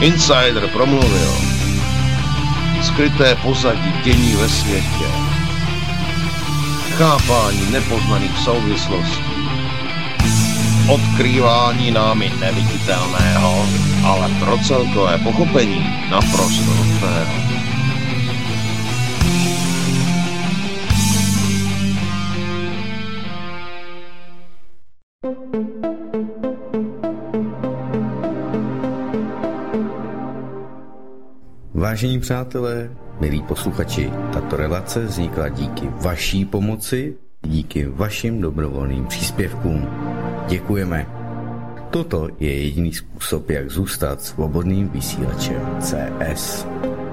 Insider promluvil. Skryté pozadí dění ve světě. Chápání nepoznaných souvislostí. Odkrývání námi neviditelného, ale pro celkové pochopení naprosto nutného. Vážení přátelé, milí posluchači, tato relace vznikla díky vaší pomoci, díky vašim dobrovolným příspěvkům. Děkujeme. Toto je jediný způsob, jak zůstat svobodným vysílačem CS.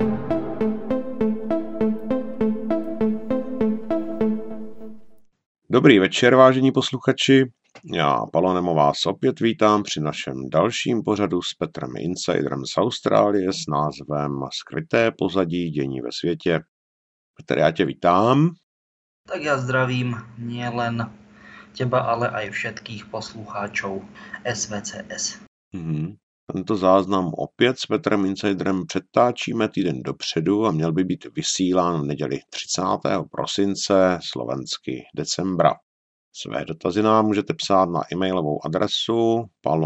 Dobrý večer, vážení posluchači. Já, Palonem, vás opět vítám při našem dalším pořadu s Petrem Insiderem z Austrálie s názvem Skryté pozadí dění ve světě. Petr, já tě vítám. Tak ja zdravím nielen teba, ale aj všetkých poslucháčov SVCS. Tento záznam opět s Petrem Insiderem přetáčíme týden dopředu a měl by být vysílán v neděli 30. prosince, slovensky decembra. Své dotazy nám můžete psát na e-mailovou adresu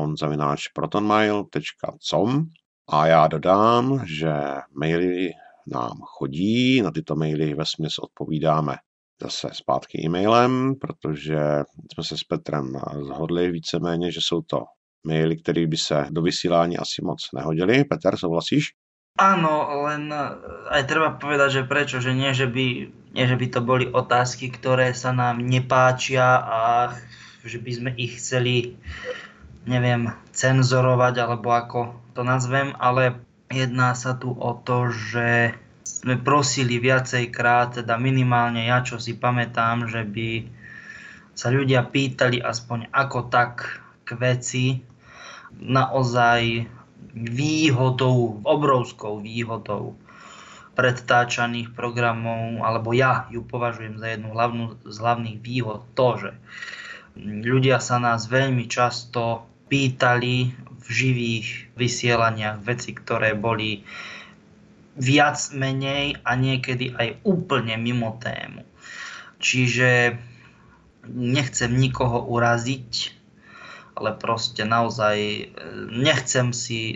palon@protonmail.com a já dodám, že maily nám chodí, na tyto maily vesměs odpovídáme zase zpátky e-mailem, protože jsme se s Petrem shodli víceméně, že jsou to maily, které by se do vysílání asi moc nehodily. Peter, souhlasíš? Áno, len aj treba povedať, že prečo, že nie, že by to boli otázky, ktoré sa nám nepáčia a že by sme ich chceli, neviem, cenzorovať, alebo ako to nazvem, ale jedná sa tu o to, že sme prosili viacejkrát, teda minimálne ja, čo si pamätám, že by sa ľudia pýtali aspoň ako tak k veci, naozaj výhodou, obrovskou výhodou predtáčaných programov, alebo ja ju považujem za jednu z hlavných výhod to, že ľudia sa nás veľmi často pýtali v živých vysielaniach veci, ktoré boli viac menej a niekedy aj úplne mimo tému. Čiže nechcem nikoho uraziť, ale proste naozaj nechceme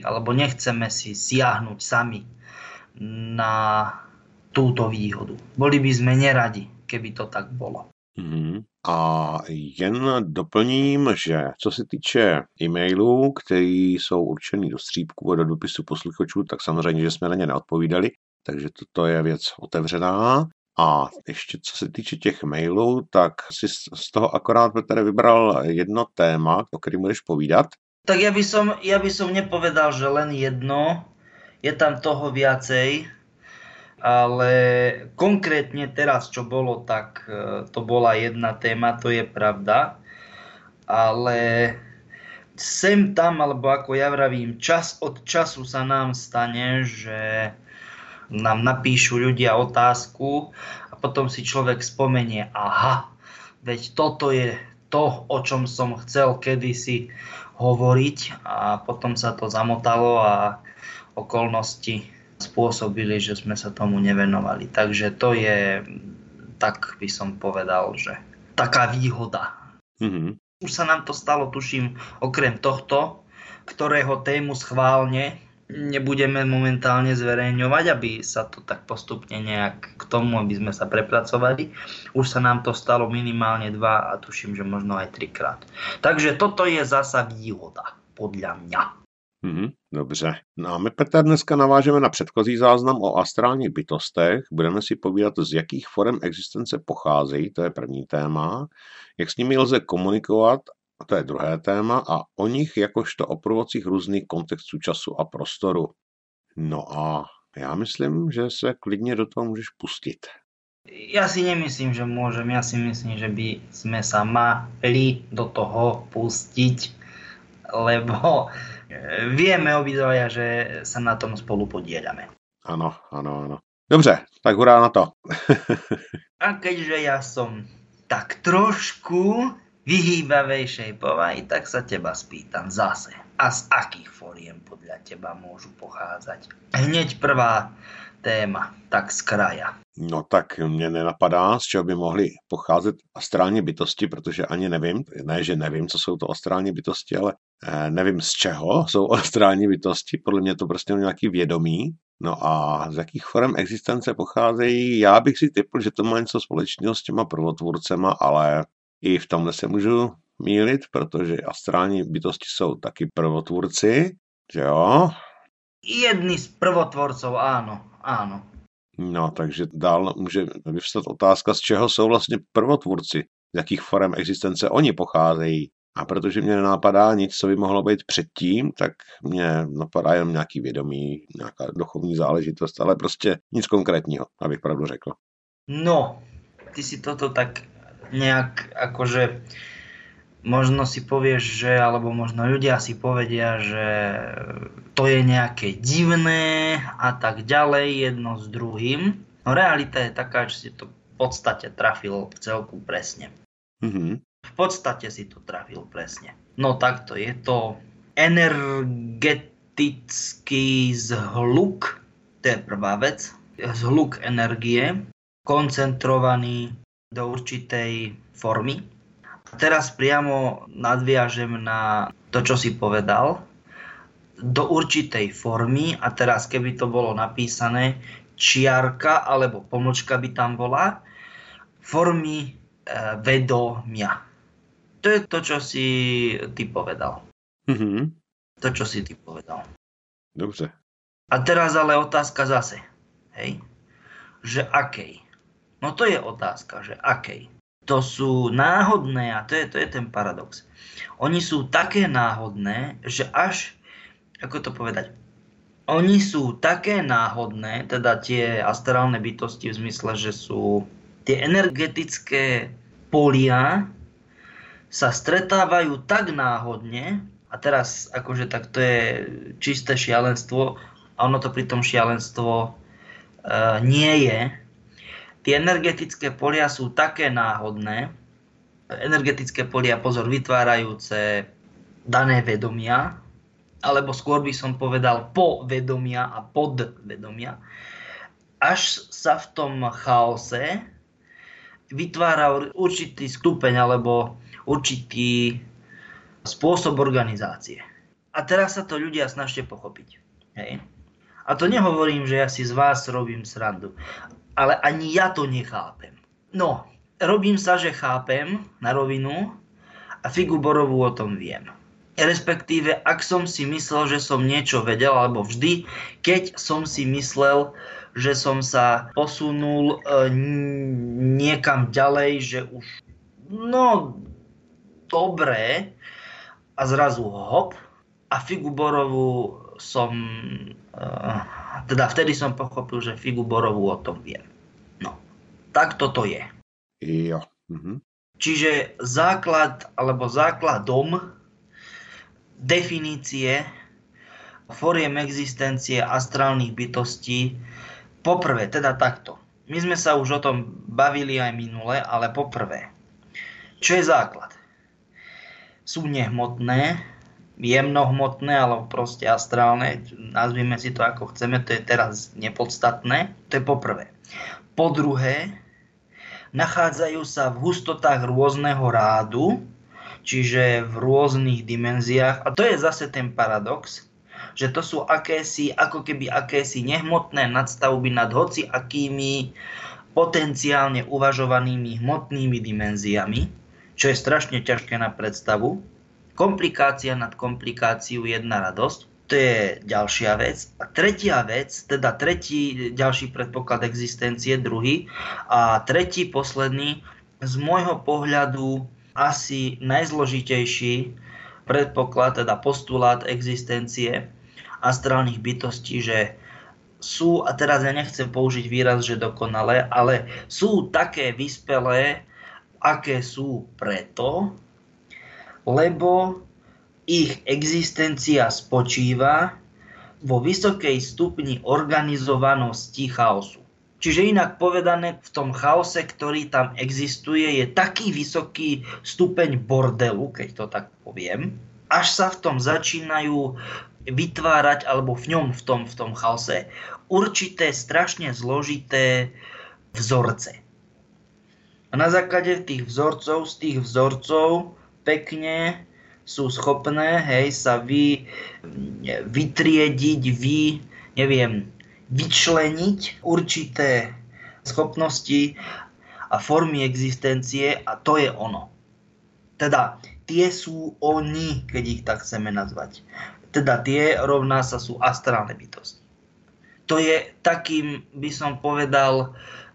si siahnuť sami na túto výhodu. Boli by sme neradi, keby to tak bolo. A jen doplním, že co se týče e-mailů, které jsou určený do střípků a do dopisu posluchačů, tak samozřejmě, že jsme na ně neodpovídali, takže toto je věc otevřená. A ještě co se týče těch mailů, tak si z toho akorát, Petr, vybral jedno téma, o kterém budeš povídat. Tak ja by som nepovedal, že len jedno, je tam toho viacej, ale konkrétne teraz, čo bolo, tak to bola jedna téma, to je pravda, ale sem tam, alebo ako ja vravím, čas od času sa nám stane, že nám napíšu ľudia otázku a potom si človek spomenie, aha, veď toto je to, o čom som chcel kedysi hovoriť a potom sa to zamotalo a okolnosti spôsobili, že sme sa tomu nevenovali. Takže to je, tak by som povedal, že taká výhoda. Už sa nám to stalo, tuším, okrem tohto, ktorého tému schválne nebudeme momentálne zverejňovať, aby sa to tak postupne nejak k tomu, aby sme sa prepracovali. Už sa nám to stalo minimálne 2 a tuším, že možno aj 3-krát. Takže toto je zasa výhoda, podľa mňa. Dobře. No a my, Petr, dneska navážeme na předchozí záznam o astrálních bytostech. Budeme si povídat, z jakých forem existence pocházejí, to je první téma, jak s nimi lze komunikovat, a to je druhé téma, a o nich jakožto o prvocích různých kontextů času a prostoru. No a já myslím, že se klidně do toho můžeš pustit. Ja si nemyslím, že môžem. Ja si myslím, že by sme sa mali do toho pustiť, lebo vieme obidvaja, že sa na tom spolu podieľame. Áno. Dobře, tak hurá na to. A keďže ja som tak trošku vyhýbavejšej povahy, tak sa teba spýtam zase. A z akých foriem podľa teba môžu pochádzať? Hneď prvá téma, tak z kraja. No tak mě nenapadá, z čeho by mohly pocházet astrální bytosti, protože ani nevím, ne, že nevím, co jsou to astrální bytosti, ale nevím, z čeho jsou astrální bytosti, podle mě to prostě nějaký vědomí. No a z jakých forem existence pocházejí, já bych si typl, že to má něco společného s těma prvotvůrcema, ale i v tomhle se můžu mýlit, protože astrální bytosti jsou taky prvotvůrci, že jo? Jedni z prvotvorcov, áno. No, takže dál může vyvstat otázka, z čeho jsou vlastně prvotvůrci, z jakých forem existence oni pocházejí. A protože mě nenapadá nic, co by mohlo být předtím, tak mě napadá jenom nějaký vědomí, nějaká duchovní záležitost, ale prostě nic konkrétního, abych pravdu řekl. No, ty si toto tak nejak akože možno si povieš, že, alebo možno ľudia si povedia, že to je nejaké divné a tak ďalej, jedno s druhým. No realita je taká, že si to v podstate trafil celku presne. V podstate si to trafil presne. No takto, je to energetický zhluk, to je prvá vec, zhluk energie, koncentrovaný do určitej formy. A teraz priamo nadviažem na to, čo si povedal, do určitej formy, a teraz keby to bolo napísané čiarka alebo pomlčka by tam bola, formy vedomia. To je to, čo si ty povedal. To, čo si ty povedal. Dobře. A teraz ale otázka zase, hej, že akej? No to je otázka, že akej? To sú náhodné, a to je ten paradox. Oni sú také náhodné, že až, ako to povedať, oni sú také náhodné, teda tie astrálne bytosti v zmysle, že sú tie energetické polia sa stretávajú tak náhodne, a teraz akože tak to je čisté šialenstvo, a ono to pri tom šialenstvo nie je. Tie energetické polia sú také náhodné, energetické polia, pozor, vytvárajúce dané vedomia, alebo skôr by som povedal povedomia a podvedomia, až sa v tom chaose vytvára určitý stupeň alebo určitý spôsob organizácie. A teraz sa to ľudia snažte pochopiť. Hej. A to nehovorím, že ja si z vás robím srandu, ale ani ja to nechápem. No, robím sa, že chápem na rovinu a figu borovú o tom viem. Respektíve, ak som si myslel, že som niečo vedel, alebo vždy, keď som si myslel, že som sa posunul niekam ďalej, že už, no, dobré, a zrazu hop, a figu borovú som, teda vtedy som pochopil, že figu borovú o tom viem. No, tak toto je. Jo. Čiže základ, alebo základom definície foriem existencie astrálnych bytostí, poprvé, teda takto. My sme sa už o tom bavili aj minule, ale poprvé, čo je základ? Sú nehmotné, jemnohmotné, alebo proste astrálne, nazvime si to ako chceme, to je teraz nepodstatné, to je poprvé. Po druhé, nachádzajú sa v hustotách rôzneho rádu, čiže v rôznych dimenziách, a to je zase ten paradox, že to sú akési, ako keby akési nehmotné nadstavby nad hoci akými potenciálne uvažovanými hmotnými dimenziami, čo je strašne ťažké na predstavu. Komplikácia nad komplikáciu, jedna radosť. To je ďalšia vec. A tretia vec, teda tretí, ďalší predpoklad existencie, druhý. A tretí, posledný, z môjho pohľadu asi najzložitejší predpoklad, teda postulát existencie astrálnych bytostí, že sú, a teraz ja nechcem použiť výraz, že dokonalé, ale sú také vyspelé, aké sú preto, lebo ich existencia spočíva vo vysokej stupni organizovanosti chaosu. Čiže inak povedané, v tom chaose, ktorý tam existuje, je taký vysoký stupeň bordelu, keď to tak poviem, až sa v tom začínajú vytvárať, alebo v tom chaose, určité strašne zložité vzorce. A na základe z tých vzorcov pekne sú schopné, sa vytriediť, vyčleniť určité schopnosti a formy existencie a to je ono. Teda tie sú oni, keď ich tak chceme nazvať. Teda tie rovná sa sú astrálne bytosti. To je takým, by som povedal,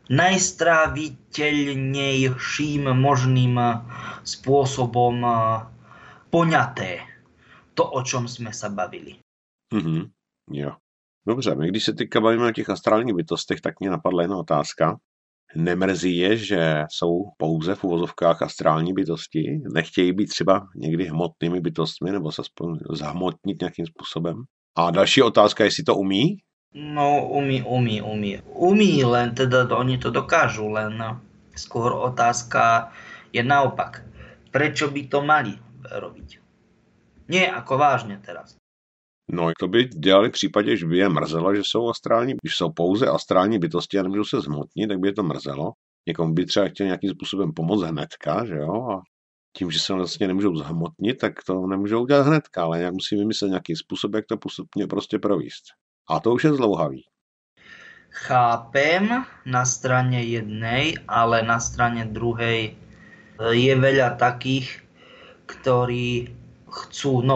najstráviteľnejším možným spôsobom poňaté to, o čom sme sa bavili. Jo. Dobře, my když se teďka bavíme o těch astrálních bytostech, tak mě napadla jedna otázka. Nemrzí je, že jsou pouze v uvozovkách astrální bytosti? Nechtějí být třeba někdy hmotnými bytostmi nebo se aspoň zhmotnit nějakým způsobem? A další otázka, jestli to umí? No, umí. Umí, len teda oni to dokážu, len skôr otázka je naopak. Prečo by to mali robiť? Nie, ako vážne teraz. No, to by dělali v případě, že by je mrzelo, že jsou astrální, když jsou pouze astrální bytosti a nemůžou se zhmotnit, tak by je to mrzelo. Někomu by třeba chtěl nějakým způsobem pomoct hnedka, že jo, a tím, že se vlastně nemůžou zhmotnit, tak to nemůžou udělat hnedka, ale jak musí vymyslet nějaký způsob, jak to postupně prostě províst. A to už je zdlouhavý. Chápem na strane jednej, ale na strane druhej je veľa takých, ktorí chcú,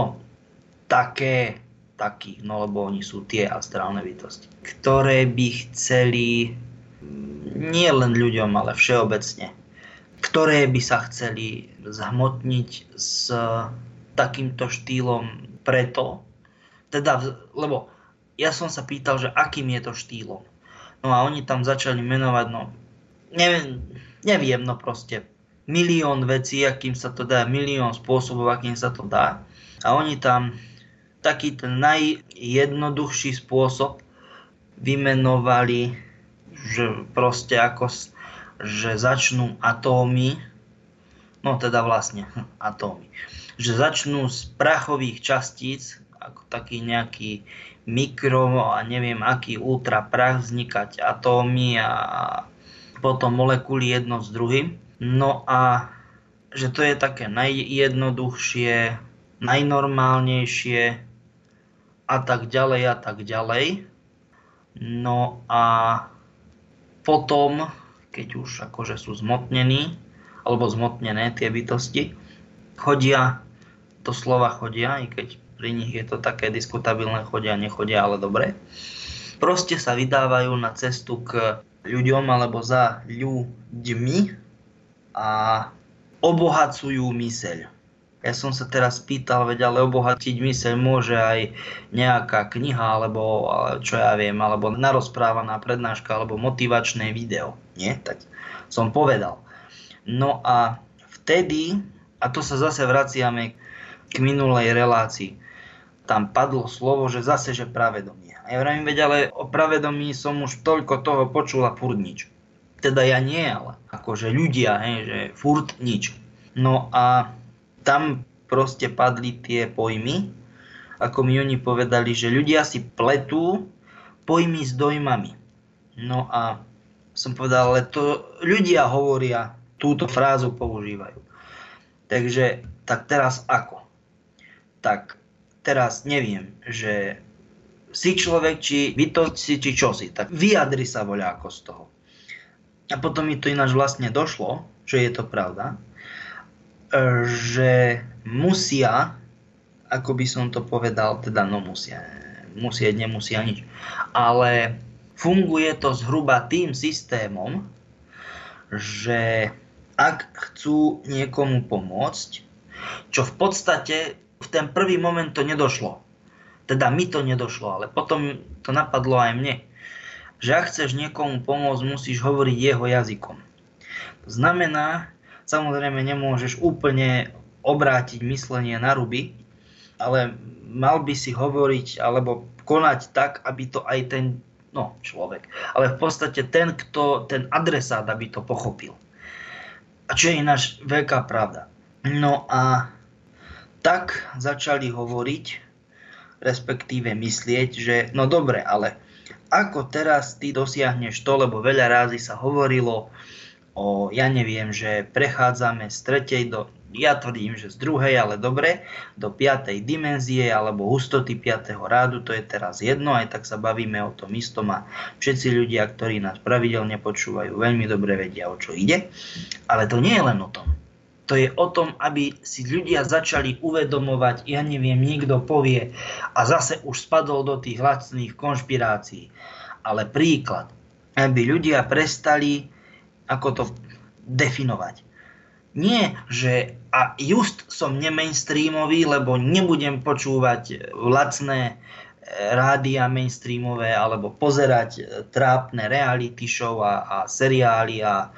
takých, lebo oni sú tie astrálne bytosti, ktoré by chceli nie len ľuďom, ale všeobecne, ktoré by sa chceli zhmotniť s takýmto štýlom preto, lebo ja som sa pýtal, že akým je to štýlom. No a oni tam začali menovať, neviem, proste milión vecí, akým sa to dá, milión spôsobov, akým sa to dá. A oni tam taký ten najjednoduchší spôsob vymenovali, že proste že začnú atómy, atómy, že začnú z prachových častíc, ako taký nejaký mikro a neviem aký ultraprach, vznikať atómy a potom molekuly jedno s druhým. No a že to je také najjednoduchšie, najnormálnejšie a tak ďalej. No a potom, keď už akože sú zmotnení, alebo zmotnené tie bytosti, doslova chodia, i keď pri nich je to také diskutabilné, nechodia, ale dobre. Proste sa vydávajú na cestu k ľuďom alebo za ľuďmi a obohacujú myseľ. Ja som sa teraz pýtal, ale obohatiť myseľ môže aj nejaká kniha, alebo čo ja viem, alebo narozprávaná prednáška, alebo motivačné video. Nie? Tak som povedal. No a vtedy, a to sa zase vraciame k minulej relácii, tam padlo slovo, že zase, že pravedomie. A ja vravím, ale o pravedomí som už toľko toho počul a furt nič. Teda ja nie, ale akože ľudia, že furt nič. No a tam proste padli tie pojmy, ako mi oni povedali, že ľudia si pletú pojmy s dojmami. No a som povedal, ale to ľudia hovoria, túto frázu používajú. Takže, tak teraz ako? Tak teraz neviem, že si človek, či bytosti, či čosi, tak vyjadri sa voľako z toho. A potom mi to ináč vlastne došlo, že je to pravda, že musia, ako by som to povedal, teda musieť, nemusia nič, ale funguje to zhruba tým systémom, že ak chcú niekomu pomôcť, čo v podstate v ten prvý moment to nedošlo. Teda mi to nedošlo, ale potom to napadlo aj mne. Že ak chceš niekomu pomôcť, musíš hovoriť jeho jazykom. To znamená, samozrejme nemôžeš úplne obrátiť myslenie na ruby, ale mal by si hovoriť alebo konať tak, aby to aj ten ale v podstate ten adresát, aby to pochopil. A čo je ináč veľká pravda. No a tak začali hovoriť, respektíve myslieť, že no dobre, ale ako teraz ty dosiahneš to, lebo veľa rázy sa hovorilo že prechádzame z 3. ja tvrdím, že z 2., ale dobre, do 5. dimenzie alebo hustoty 5. rádu, to je teraz jedno, aj tak sa bavíme o tom istom a všetci ľudia, ktorí nás pravidelne počúvajú, veľmi dobre vedia, o čo ide. Ale to nie je len o tom. To je o tom, aby si ľudia začali uvedomovať, niekto povie a zase už spadol do tých lacných konšpirácií. Ale príklad, aby ľudia prestali ako to definovať. Nie, že a just som nemainstreamový, lebo nebudem počúvať lacné rádia mainstreamové alebo pozerať trápne reality show a seriály a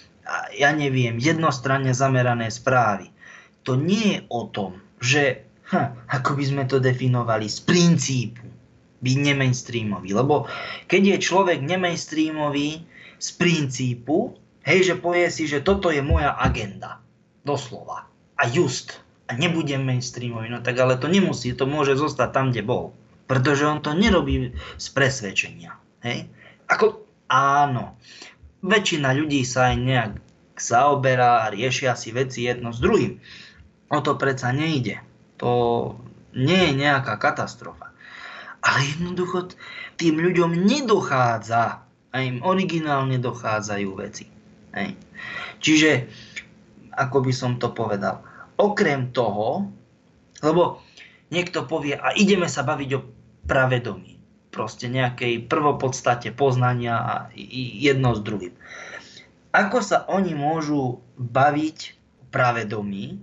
jednostranne zamerané správy. To nie je o tom, že ako by sme to definovali z princípu byť nemainstreamový. Lebo keď je človek nemainstreamový z princípu, že povie si, že toto je moja agenda. Doslova. A nebudem mainstreamový. No tak ale to nemusí, to môže zostať tam, kde bol. Pretože on to nerobí z presvedčenia. Hej? Áno. Väčšina ľudí sa aj nejak zaoberá a riešia si veci jedno s druhým. O to predsa nejde. To nie je nejaká katastrofa. Ale jednoducho tým ľuďom nedochádza a im originálne dochádzajú veci. Hej. Čiže, ako by som to povedal, okrem toho, lebo niekto povie, a ideme sa baviť o pravedomí, proste nejakej prvopodstate poznania a jedno s druhým. Ako sa oni môžu baviť o pravedomí?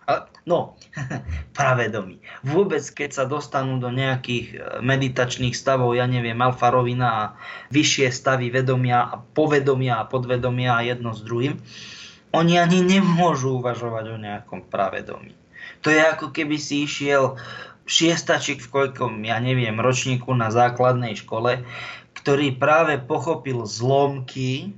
Pravedomí. Vôbec, keď sa dostanú do nejakých meditačných stavov, alfa rovina a vyššie stavy vedomia a povedomia a podvedomia a jedno s druhým, oni ani nemôžu uvažovať o nejakom pravedomí. To je ako keby si išiel šiestačik v koľkom, ročníku na základnej škole, ktorý práve pochopil zlomky,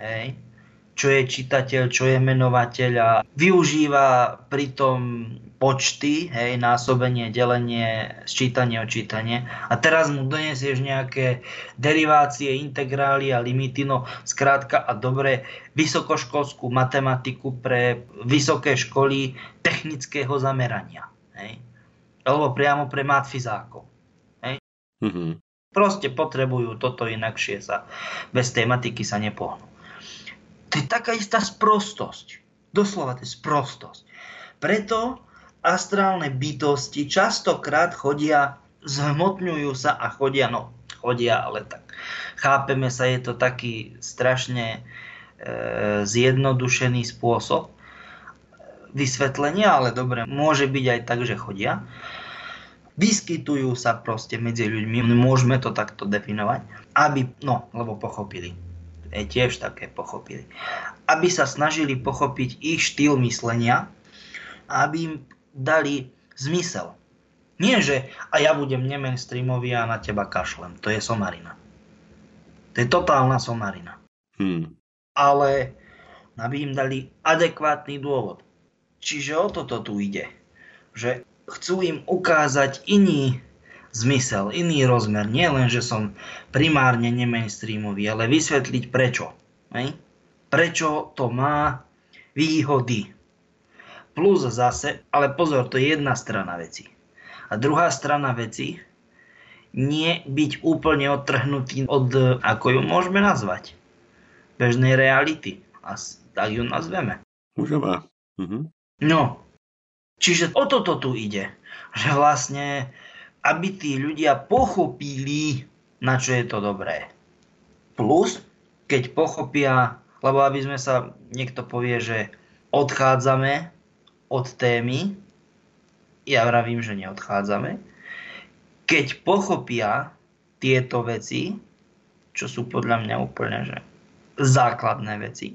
čo je čitateľ, čo je menovateľ a využíva pritom počty, násobenie, delenie, sčítanie, odčítanie. A teraz mu donesieš nejaké derivácie, integrály a limity, skrátka a dobre, vysokoškolskú matematiku pre vysoké školy technického zamerania. Alebo priamo pre matfizákov. Mm-hmm. Proste potrebujú toto, inakšie sa bez tej matiky sa nepohnú. To je taká istá sprostosť. Doslova to je sprostosť. Preto astrálne bytosti častokrát zhmotňujú sa a chodia, ale tak chápeme sa, je to taký strašne zjednodušený spôsob vysvetlenia, ale dobre, môže byť aj tak, že chodia. Vyskytujú sa proste medzi ľuďmi, môžeme to takto definovať, lebo pochopili. Tiež také pochopili. Aby sa snažili pochopiť ich štýl myslenia a aby im dali zmysel. Nie, že a ja budem nemainstreamový a na teba kašlem. To je somarina. To je totálna somarina. Ale aby im dali adekvátny dôvod. Čiže o toto tu ide. Že chcú im ukázať iný zmysel, iný rozmer. Nie len, že som primárne nemainstreamový, ale vysvetliť prečo. Prečo to má výhody. Plus zase, ale pozor, to je jedna strana veci. A druhá strana veci, nie byť úplne odtrhnutý od, ako ju môžeme nazvať, bežnej reality. A tak ju nazveme. Môžeme. Mhm. Čiže o toto tu ide. Že vlastne aby tí ľudia pochopili, na čo je to dobré. Plus, keď pochopia, lebo aby sme sa, niekto povie, že odchádzame od témy, ja vravím, že neodchádzame, keď pochopia tieto veci, čo sú podľa mňa úplne že základné veci,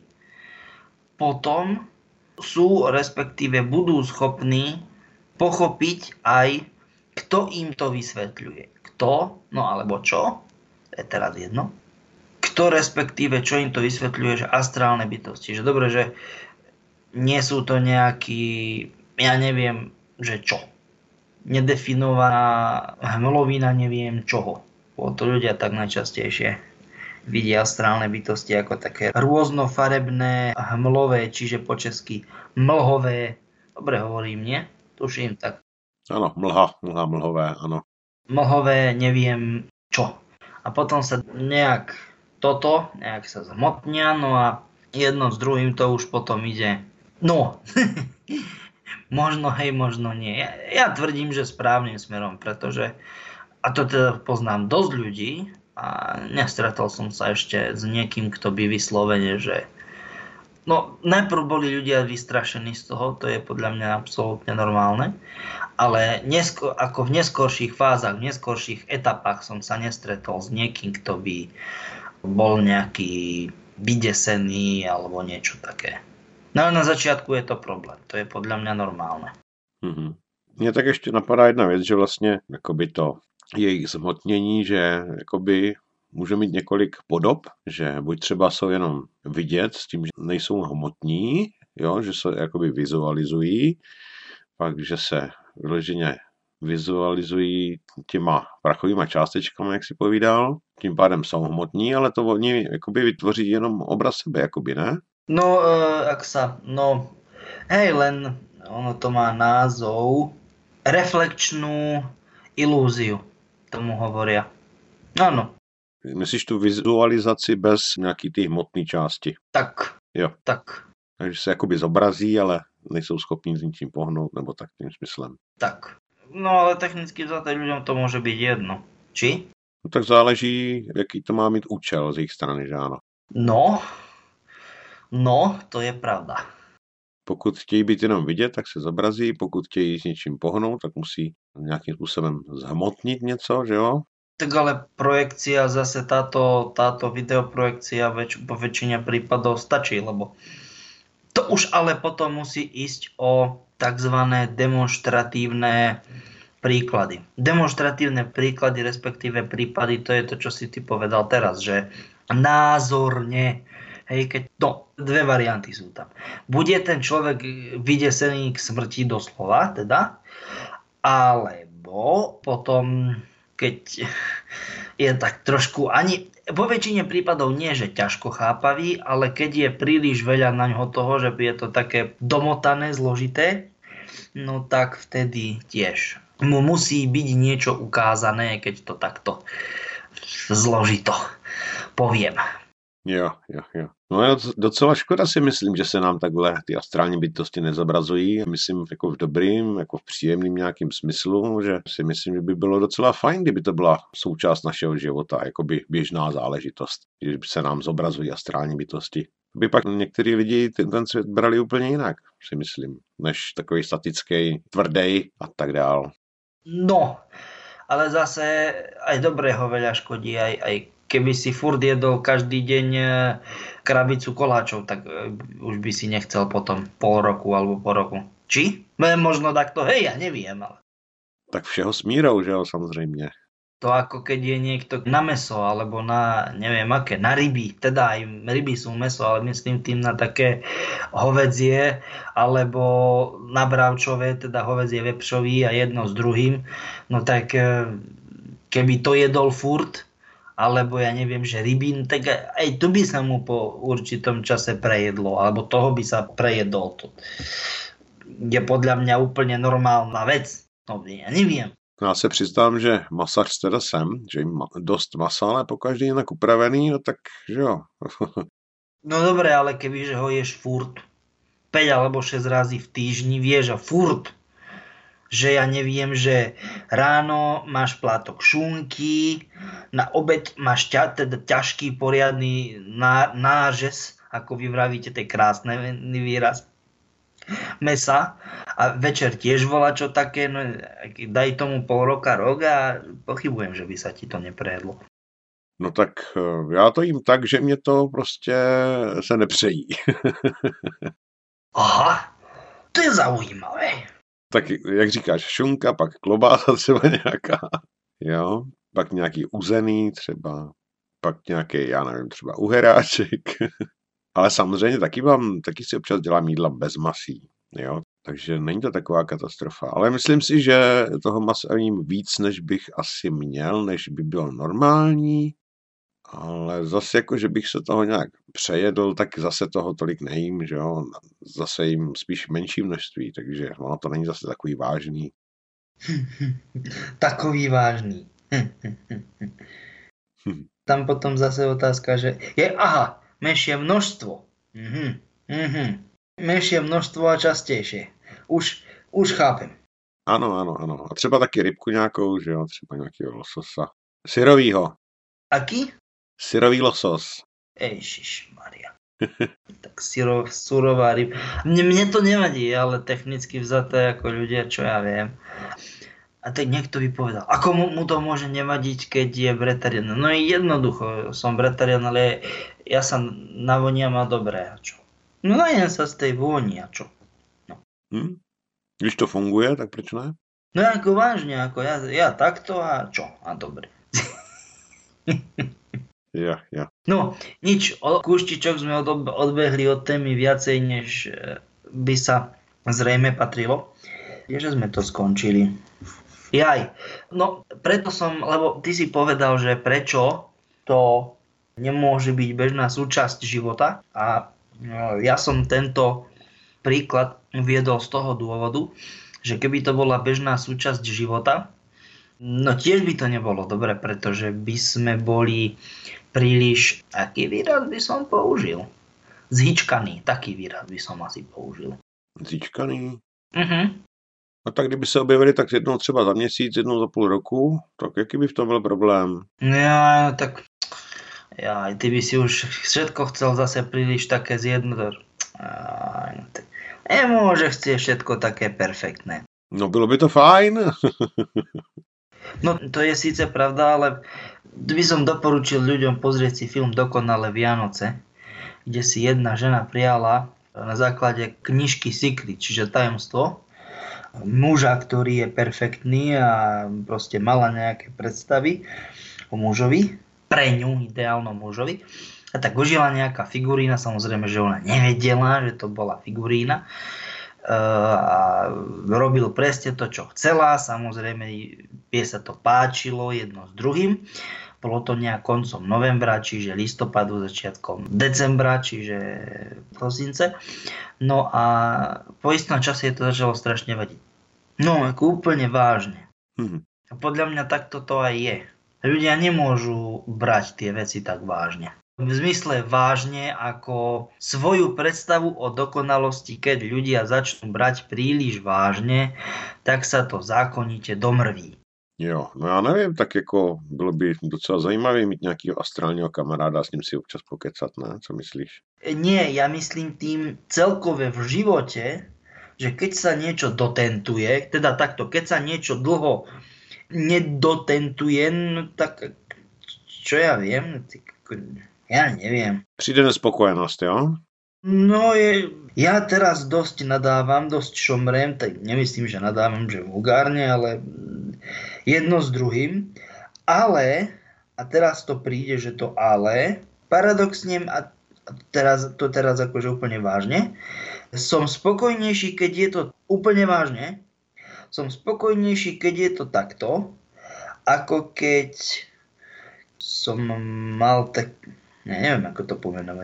potom sú, respektíve budú schopní pochopiť aj, kto im to vysvetľuje. Kto, alebo čo? je teraz jedno. Kto respektíve, čo im to vysvetľuje, že astrálne bytosti. Že dobre, že nie sú to nejaký, ja neviem, že čo. Nedefinovaná hmlovina, neviem čoho. To ľudia tak najčastejšie vidia astrálne bytosti ako také rôznofarebné hmlové, čiže po česky mlhové. Dobre hovorím, nie? Tuším tak. Áno, mlhové, áno. Mlhové, neviem čo. A potom sa nejak sa zhmotnia, no a jedno s druhým to už potom ide. No, možno hej, možno nie. Ja tvrdím, že správnym smerom, pretože, a to teda poznám dosť ľudí, a nestretol som sa ešte s niekým, kto by vyslovene, že no, najprv boli ľudia vystrašení z toho, to je podľa mňa absolútne normálne, ale ako v neskorších fázach, v neskorších etapách som sa nestretol s niekým, kto by bol nejaký vydesený alebo niečo také. No ale na začiatku je to problém, to je podľa mňa normálne. Mně tak ještě napadá jedna věc, že vlastně jakoby to jejich zhmotnění, že jakoby může mít několik podob, že buď třeba jsou jenom vidět s tím, že nejsou hmotní, jo, že se jakoby vizualizují, pak, že se vyloženě vizualizují těma prachovýma částečkami, jak si povídal, tím pádem jsou hmotní, ale to oni jakoby vytvoří jenom obraz sebe, jakoby, ne? No, len ono to má názov reflekčnú ilúziu, tomu hovoria. Áno. Myslíš tu vizualizaci bez nějaký ty hmotné části? Tak. Jo. Tak. Takže se jakoby zobrazí, ale nejsou schopní s ničím pohnout, nebo tak tím smyslem. Tak. No ale technicky vzaté ľuďom to môže byť jedno. Či? No tak záleží, jaký to má mít účel z jejich strany, že ano? No, to je pravda. Pokud chtějí být jenom vidět, tak se zobrazí, pokud chtějí s něčím pohnout, tak musí nějakým způsobem zhmotnit něco, že jo? Tak ale projekcia, zase táto videoprojekcia po väčšine prípadov stačí, lebo to už ale potom musí ísť o takzvané demonstratívne príklady. Demonstratívne príklady, respektíve prípady, to je to, čo si ty povedal teraz, že názorne, hej, dve varianty sú tam. Bude ten človek vydesený k smrti doslova, teda, alebo potom, keď je tak trošku vo väčšine prípadov nie, že ťažko chápavý, ale keď je príliš veľa na ňo toho, že je to také domotané, zložité, no tak vtedy tiež mu musí byť niečo ukázané, keď to takto zložito poviem. Jo. No je docela škoda, si myslím, že se nám takhle ty astrální bytosti nezobrazují. Myslím jako v dobrým, jako v příjemným nějakým smyslu, že si myslím, že by bylo docela fajn, kdyby to byla součást našeho života, jako by běžná záležitost, když se nám zobrazují astrální bytosti. By pak některý lidi ten svět brali úplně jinak, si myslím, než takový statický, tvrdý a tak dál. No, ale zase aj dobrého veľa škodí, aj keby si furt jedol každý deň krabicu koláčov, tak už by si nechcel potom pol roku alebo po roku. Či? Možno takto, hej, ja neviem. Ale... Tak všeho s mírou, že jo, samozřejmě. To ako keď je niekto na mäso, alebo na neviem aké, na ryby. Teda aj ryby sú mäso, ale myslím tým na také hovädzie, alebo na bravčové, teda hovädzie vepřový a jedno s druhým. No tak keby to jedol furt, alebo ja neviem, že rybín, tak aj tu by sa mu po určitom čase prejedlo, alebo toho by sa prejedol. To je podľa mňa úplne normálna vec. No ja neviem. Já se přiznám, že masař teda jsem, že jim dost masa, ale pokaždý jinak upravený, no tak, že jo. No dobre, ale kebyže ho ješ furt 5 alebo 6 razy v týždni, vieš a furt, že ja neviem, že ráno máš plátok šunky, na obed máš teda ťažký poriadny nářez, ako vy vravíte, to je krásny výraz, mesa a večer tiež volá čo také, no daj tomu pol roka, rok a pochybujem, že by sa ti to neprejedlo. No tak já to jím tak, že mě to prostě se nepřejí. Aha, to je zaujímavé. Tak jak říkáš, šunka, pak klobása třeba nějaká, jo, pak nějaký uzený třeba, pak nějaký, já nevím, třeba uheráček. Ale samozřejmě taky si občas dělám jídla bez masí, jo. Takže není to taková katastrofa. Ale myslím si, že toho masa jím víc, než bych asi měl, než by bylo normální. Ale zase jako, že bych se toho nějak přejedl, tak zase toho tolik nejím, že jo. Zase jim spíš menší množství, takže ono to není zase takový vážný. Takový vážný. Tam potom zase otázka, že menšie množstvo. Menšie množstvo a častejšie. Už chápem. Ano. A třeba taky rybku nějakou, že jo, třeba nějakého lososa. Syrovýho. Aký? Syrový losos. Ježišmaria. Tak surová ryba. Mne to nevadí, ale technicky vzaté ako ľudia, čo ja viem. A tak niekto by povedal, ako mu to môže nevadiť, keď je vegetarián. No jednoducho, som vegetarián, ale ja sa navoniam a dobré, a čo? No najem sa z tej vôni, a čo? No. Když to funguje, tak proč ne? No ako vážne, ako ja takto a čo? A dobre. Ja. No, nič, kúštičok sme odbehli od témy viacej, než by sa zrejme patrilo. Že sme to skončili. Jaj, no preto lebo ty si povedal, že prečo to nemôže byť bežná súčasť života a ja som tento príklad uviedol z toho dôvodu, že keby to bola bežná súčasť života, no tiež by to nebolo dobre, pretože by sme boli príliš, aký výraz by som použil? Zhyčkaný, taký výraz by som asi použil. Zhyčkaný? A tak kdyby se objevili tak jednou třeba za měsíc, jednou za půl roku, tak jaký by v tom byl problém? Ja, tak ty by si už všetko chcel zase príliš také zjednodušiť. Nemôže chcieť všetko také perfektné. No bylo by to fajn. No to je síce pravda, ale by som doporučil ľuďom pozrieť si film Dokonalé Vianoce, kde si jedna žena prijala na základe knižky Secret, čiže tajomstvo, muža, ktorý je perfektný a proste mala nejaké predstavy o mužovi, pre ňu ideálnom mužovi. A tak užila nejaká figurína, samozrejme, že ona nevedela, že to bola figurína. A robil presne to, čo chcela, samozrejme jej sa to páčilo jedno s druhým. Bolo to nejak koncom novembra, čiže listopadu, začiatkom decembra, čiže prosince. No a po istom čase to začalo strašne vadiť. No, ako úplne vážne. A podľa mňa takto to aj je. Ľudia nemôžu brať tie veci tak vážne. V zmysle vážne ako svoju predstavu o dokonalosti, keď ľudia začnú brať príliš vážne, tak sa to zákonite domrví. Jo, no já nevím, tak jako bylo by docela zajímavé mít nějakého astrálního kamaráda a s ním si občas pokecat, ne? Co myslíš? Nie, ja myslím tým celkové v živote, že keď sa niečo dotentuje, teda takto, keď sa niečo dlho nedotentuje, no tak čo ja viem, ja neviem. Přijde nespokojenosť, jo? No ja teraz dosť nadávam, dosť šomrem, tak nemyslím, že nadávam, že vulgárne, ale jedno s druhým. Ale, a teraz to príde, že to ale, paradoxne, a teraz akože úplne vážne, som spokojnejší, keď je to úplne vážne, som spokojnejší, keď je to takto, ako keď som mal tak, neviem ako to pomenovať,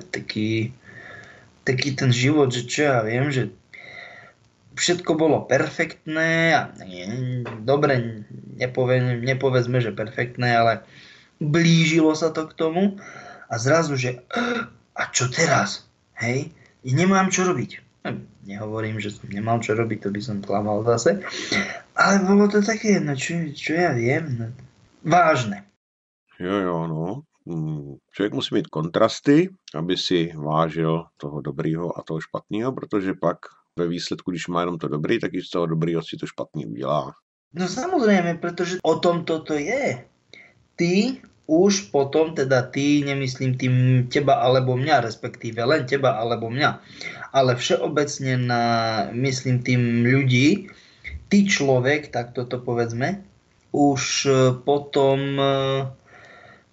taký ten život, že čo ja viem, že všetko bolo perfektné a dobre, nepovedzme, že perfektné, ale blížilo sa to k tomu a zrazu, že a čo teraz? Hej, nemám čo robiť. Nehovorím, že som nemal čo robiť, to by som klamal zase, ale bolo to také, no čo ja viem, no, vážne. Jo, no. Člověk musí mít kontrasty, aby si vážil toho dobrýho a toho špatného, protože pak ve výsledku, když má jenom to dobrý, tak i z toho dobrýho si to špatný udělá. No samozrejme, pretože o tom toto je. Ty už potom, teda ty, nemyslím tým teba alebo mňa, respektíve len teba alebo mňa, ale všeobecne myslím tým ľudí, ty človek, tak toto povedzme, už potom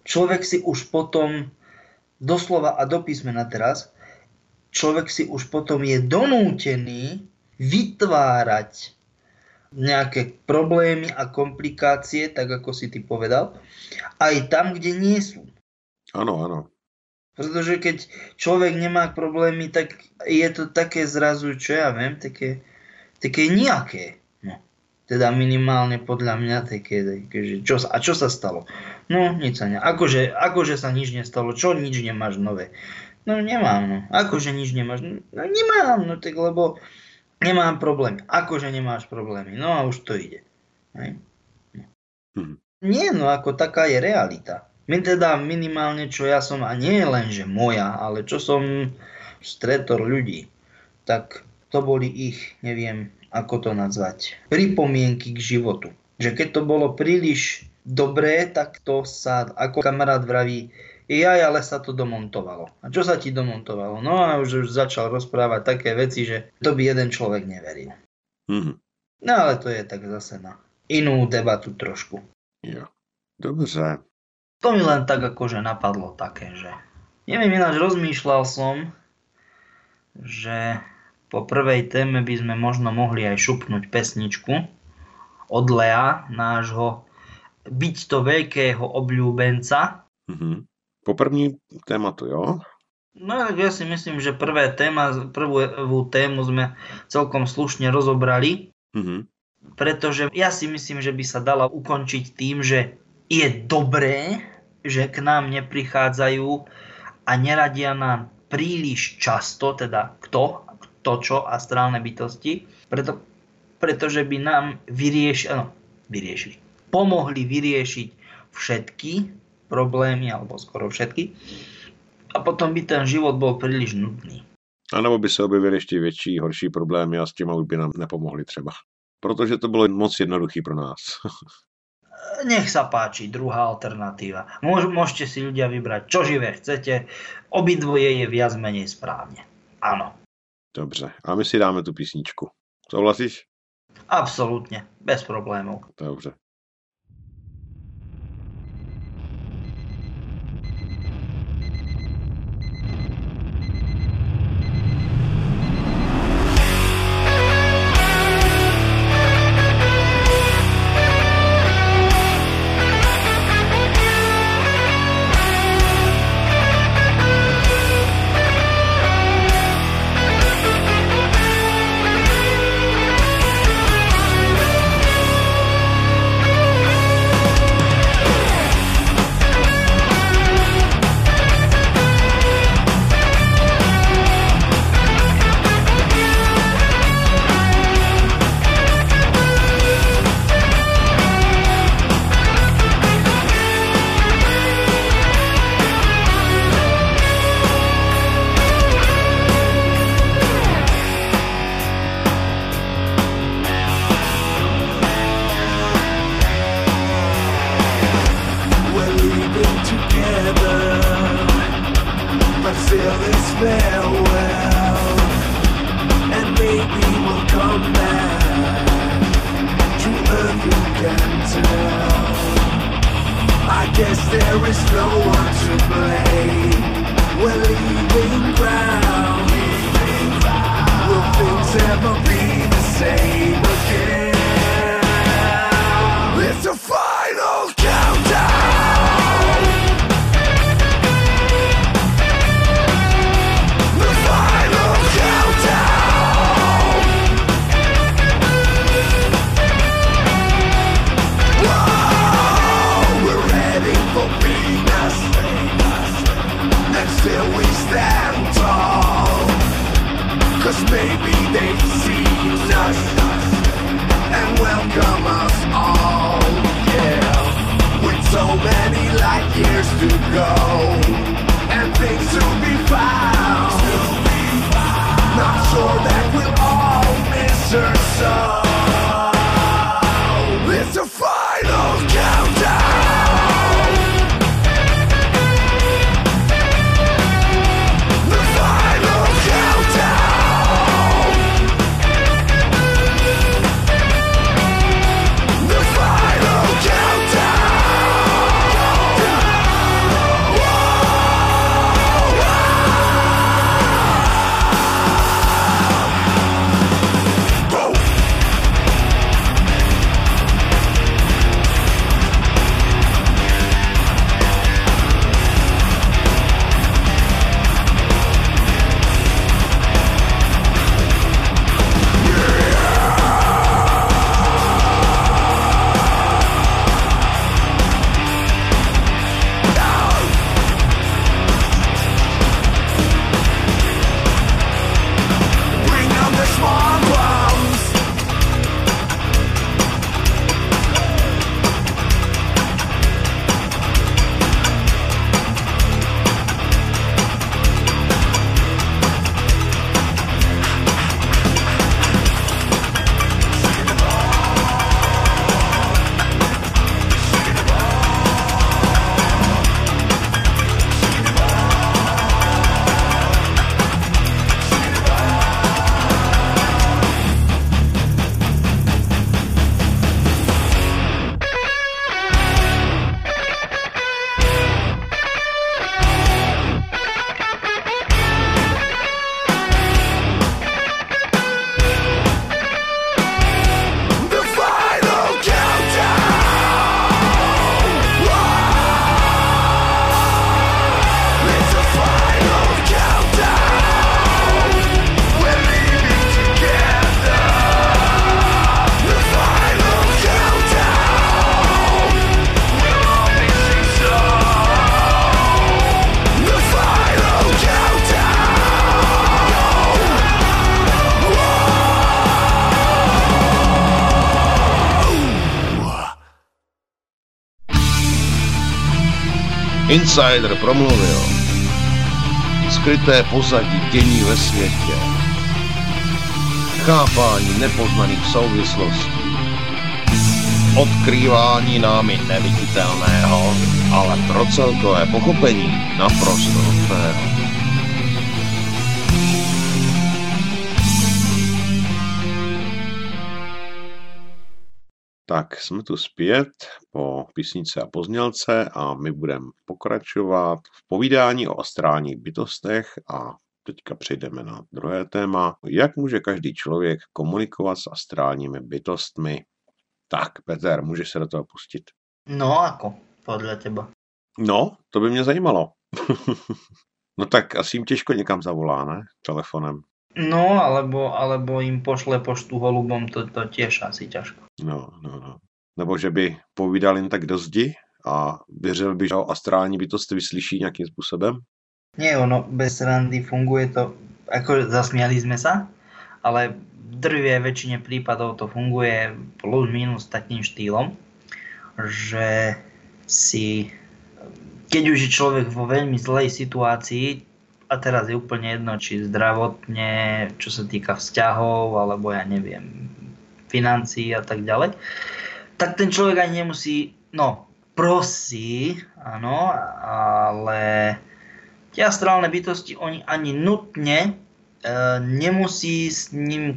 človek si už potom, doslova a do písmena teraz, človek si už potom je donútený vytvárať nejaké problémy a komplikácie, tak ako si ty povedal, aj tam, kde nie sú. Áno, áno. Pretože keď človek nemá problémy, tak je to také zrazu, čo ja viem, také nejaké. No. Teda minimálne podľa mňa také že čo sa stalo? No, nič sa akože sa nič nestalo, čo nič nemáš nové? No, nemám, no. Akože nič nemáš? No, nemám, no tak lebo nemám problémy. Akože nemáš problémy? No a už to ide. Hej? No. Nie, no ako taká je realita. My teda minimálne, čo ja som, a nie len, že moja, ale čo som stretol ľudí, tak to boli ich, neviem, ako to nazvať, pripomienky k životu. Že keď to bolo príliš dobré, tak to sa, ako kamarát vraví, ale sa to domontovalo. A čo sa ti domontovalo? No a už začal rozprávať také veci, že to by jeden človek neveril. No ale to je tak zase na inú debatu trošku. Jo. Dobře. To mi len tak akože napadlo také, že neviem, ináč rozmýšľal som, že po prvej téme by sme možno mohli aj šupnúť pesničku od Lea, nášho byť to veľkého obľúbenca. Po první tématu, jo? No ja si myslím, že prvú tému sme celkom slušne rozobrali, pretože ja si myslím, že by sa dala ukončiť tým, že je dobré, že k nám neprichádzajú a neradia nám príliš často, teda kto čo, astrálne bytosti, pretože by nám pomohli vyriešiť všetky problémy, alebo skoro všetky, a potom by ten život bol príliš nudný. A nebo by se objevily ještě větší, horší problémy a s těma už by nám nepomohli třeba. Protože to bylo moc jednoduchý pro nás. Nech sa páči, druhá alternatíva. Môžete si ľudia vybrať, čo živé chcete. Obidvoje je viac menej správne. Áno. Dobře. A my si dáme tu písničku. Souhlasíš? Absolútne. Bez problémov. Dobře. Maybe they've seen us. Insider promluvil. Skryté pozadí dění ve světě. Chápání nepoznaných souvislostí. Odkrývání námi neviditelného, ale pro celkové pochopení naprosto nutného. Tak jsme tu zpět po písničce a poznělce a my budeme pokračovat v povídání o astrálních bytostech a teďka přejdeme na druhé téma. Jak může každý člověk komunikovat s astrálními bytostmi? Tak, Peter, můžeš se do toho pustit. No ako, podle teba? No, to by mě zajímalo. No tak asi jim těžko někam zavolá, ne? Telefonem. No, alebo im pošle poštu holubom, to tiež asi ťažko. No. Nebo že by povídal jen tak do zdi a věřil by, že ho astrální bytosti vyslyší nějakým způsobem? Nie, ono bez randy funguje to, ako zasmiali sme sa, ale v drvie väčšine prípadov to funguje plus minus takým štýlom, že si, keď už je človek vo veľmi zlej situácii, a teraz je úplne jedno, či zdravotne, čo sa týka vzťahov, alebo ja neviem, financií a tak ďalej, tak ten človek ani nemusí, prosí, áno, ale tie astrálne bytosti, oni ani nutne nemusia s ním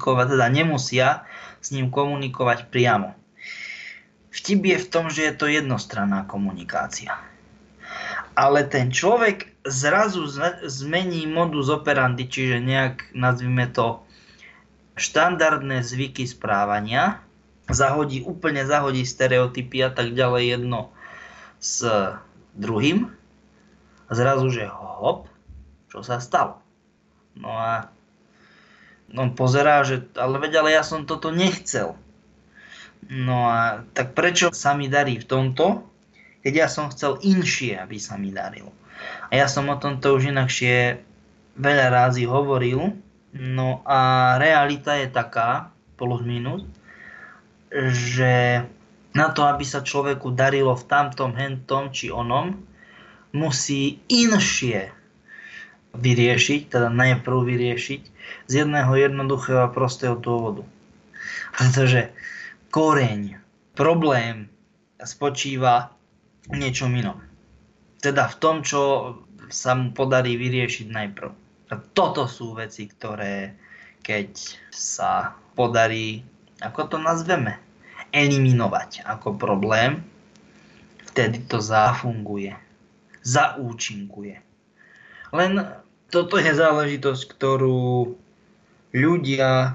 komunikovať priamo. Vtip je v tom, že je to jednostranná komunikácia. Ale ten človek zrazu zmení modus operandi, čiže nejak, nazvime to, štandardné zvyky správania, úplne zahodí stereotypy a tak ďalej jedno s druhým. A zrazu, že hop, čo sa stalo? No a on pozerá, že ale ja som toto nechcel. No a tak prečo sa mi darí v tomto, keď ja som chcel inšie, aby sa mi darilo. A ja som o tomto už inakšie veľa rázy hovoril. No a realita je taká, plus minus, že na to, aby sa človeku darilo v tamtom, hentom či onom, musí inšie vyriešiť, teda najprv vyriešiť z jedného jednoduchého a prostého dôvodu. Pretože koreň, problém spočíva v niečom inom. Teda v tom, čo sa mu podarí vyriešiť najprv. A toto sú veci, ktoré keď sa podarí, ako to nazveme, eliminovať ako problém, vtedy to zafunguje, zaúčinkuje. Len toto je záležitosť, ktorú ľudia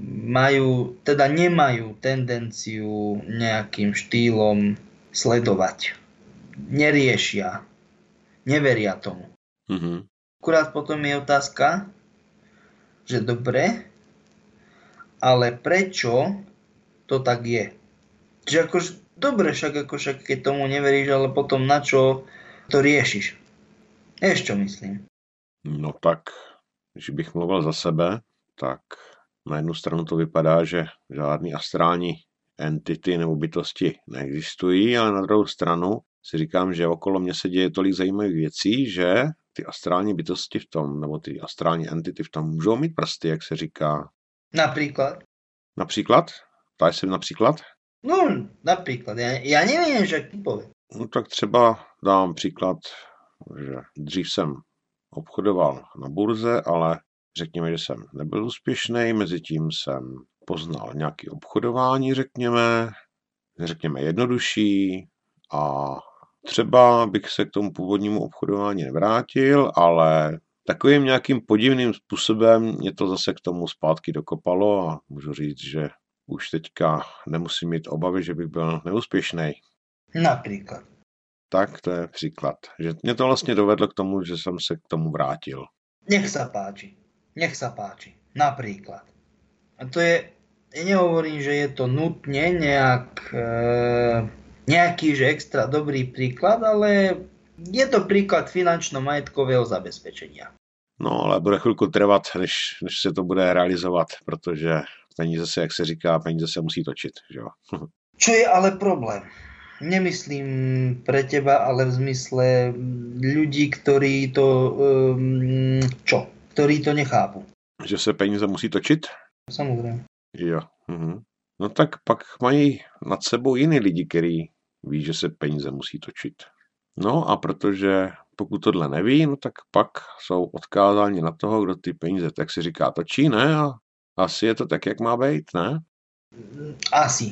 nemajú tendenciu nejakým štýlom sledovať. Neriešia, neveria tomu. Mm-hmm. Akurát potom je otázka, že dobre, ale prečo to tak je? Že akože, dobre, však keď tomu neveríš, ale potom na čo to riešiš? Vieš, čo myslím? No tak, když bych mluvil za sebe, tak na jednu stranu to vypadá, že žádný astrální entity nebo bytosti neexistují, ale na druhou stranu si říkám, že okolo mě se děje tolik zajímavých věcí, že ty astrální bytosti v tom, nebo ty astrální entity v tom můžou mít prsty, jak se říká. Napríklad? Například? Ptáš se například? No, napríklad. Ja neviem, že ty povie. No tak třeba dám příklad, že dřív jsem obchodoval na burze, ale řekněme, že jsem nebyl úspěšný, mezitím jsem poznal nějaké obchodování, řekněme jednodušší a třeba bych se k tomu původnímu obchodování nevrátil, ale takovým nějakým podivným způsobem mě to zase k tomu zpátky dokopalo a můžu říct, že už teďka nemusím mít obavy, že bych byl neúspěšný. Napríklad. Tak to je příklad. Že mě to vlastně dovedlo k tomu, že jsem se k tomu vrátil. Nech sa páči. Napríklad. A to je, ja nehovorím, že je to nutne nejaký že extra dobrý príklad, ale je to príklad finančno-majetkového zabezpečenia. No, ale bude chvilku trvat, než se to bude realizovat, protože peníze se, jak se říká, peníze se musí točit, že jo? Čo je ale problém? Nemyslím pre teba, ale v zmysle ľudí, ktorí to ktorí to nechápu. Že se peníze musí točit? Samozrejme. Jo. Mhm. No tak pak mají nad sebou jiný lidi, který ví, že se peníze musí točit. No a protože pokud tohle neví, no tak pak jsou odkázáni na toho, kdo ty peníze, tak si říká, točí, ne? A asi je to tak, jak má být, ne? Asi.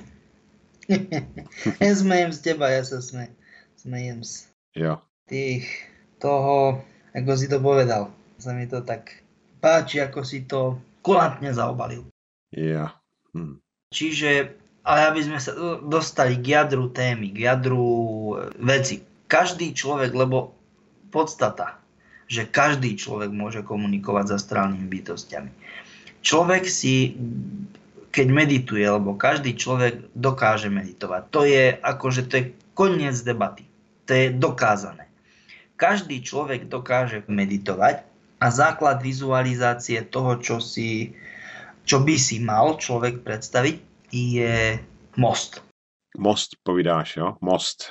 Smejem z teba, ja sa smejem z Jo. tých toho, ako si to povedal. Sa mi to tak páči, ako si to kulantne zaobalil. Jo. Čiže, ale aby sme sa dostali k jadru témy, k jadru veci. Každý človek, lebo podstata, že každý človek môže komunikovať s astrálnymi bytostiami. Človek si, keď medituje, lebo každý človek dokáže meditovať. To je koniec debaty. To je dokázané. Každý človek dokáže meditovať a základ vizualizácie toho, čo by si mal človek predstaviť, je most. Most povídáš, jo? Most.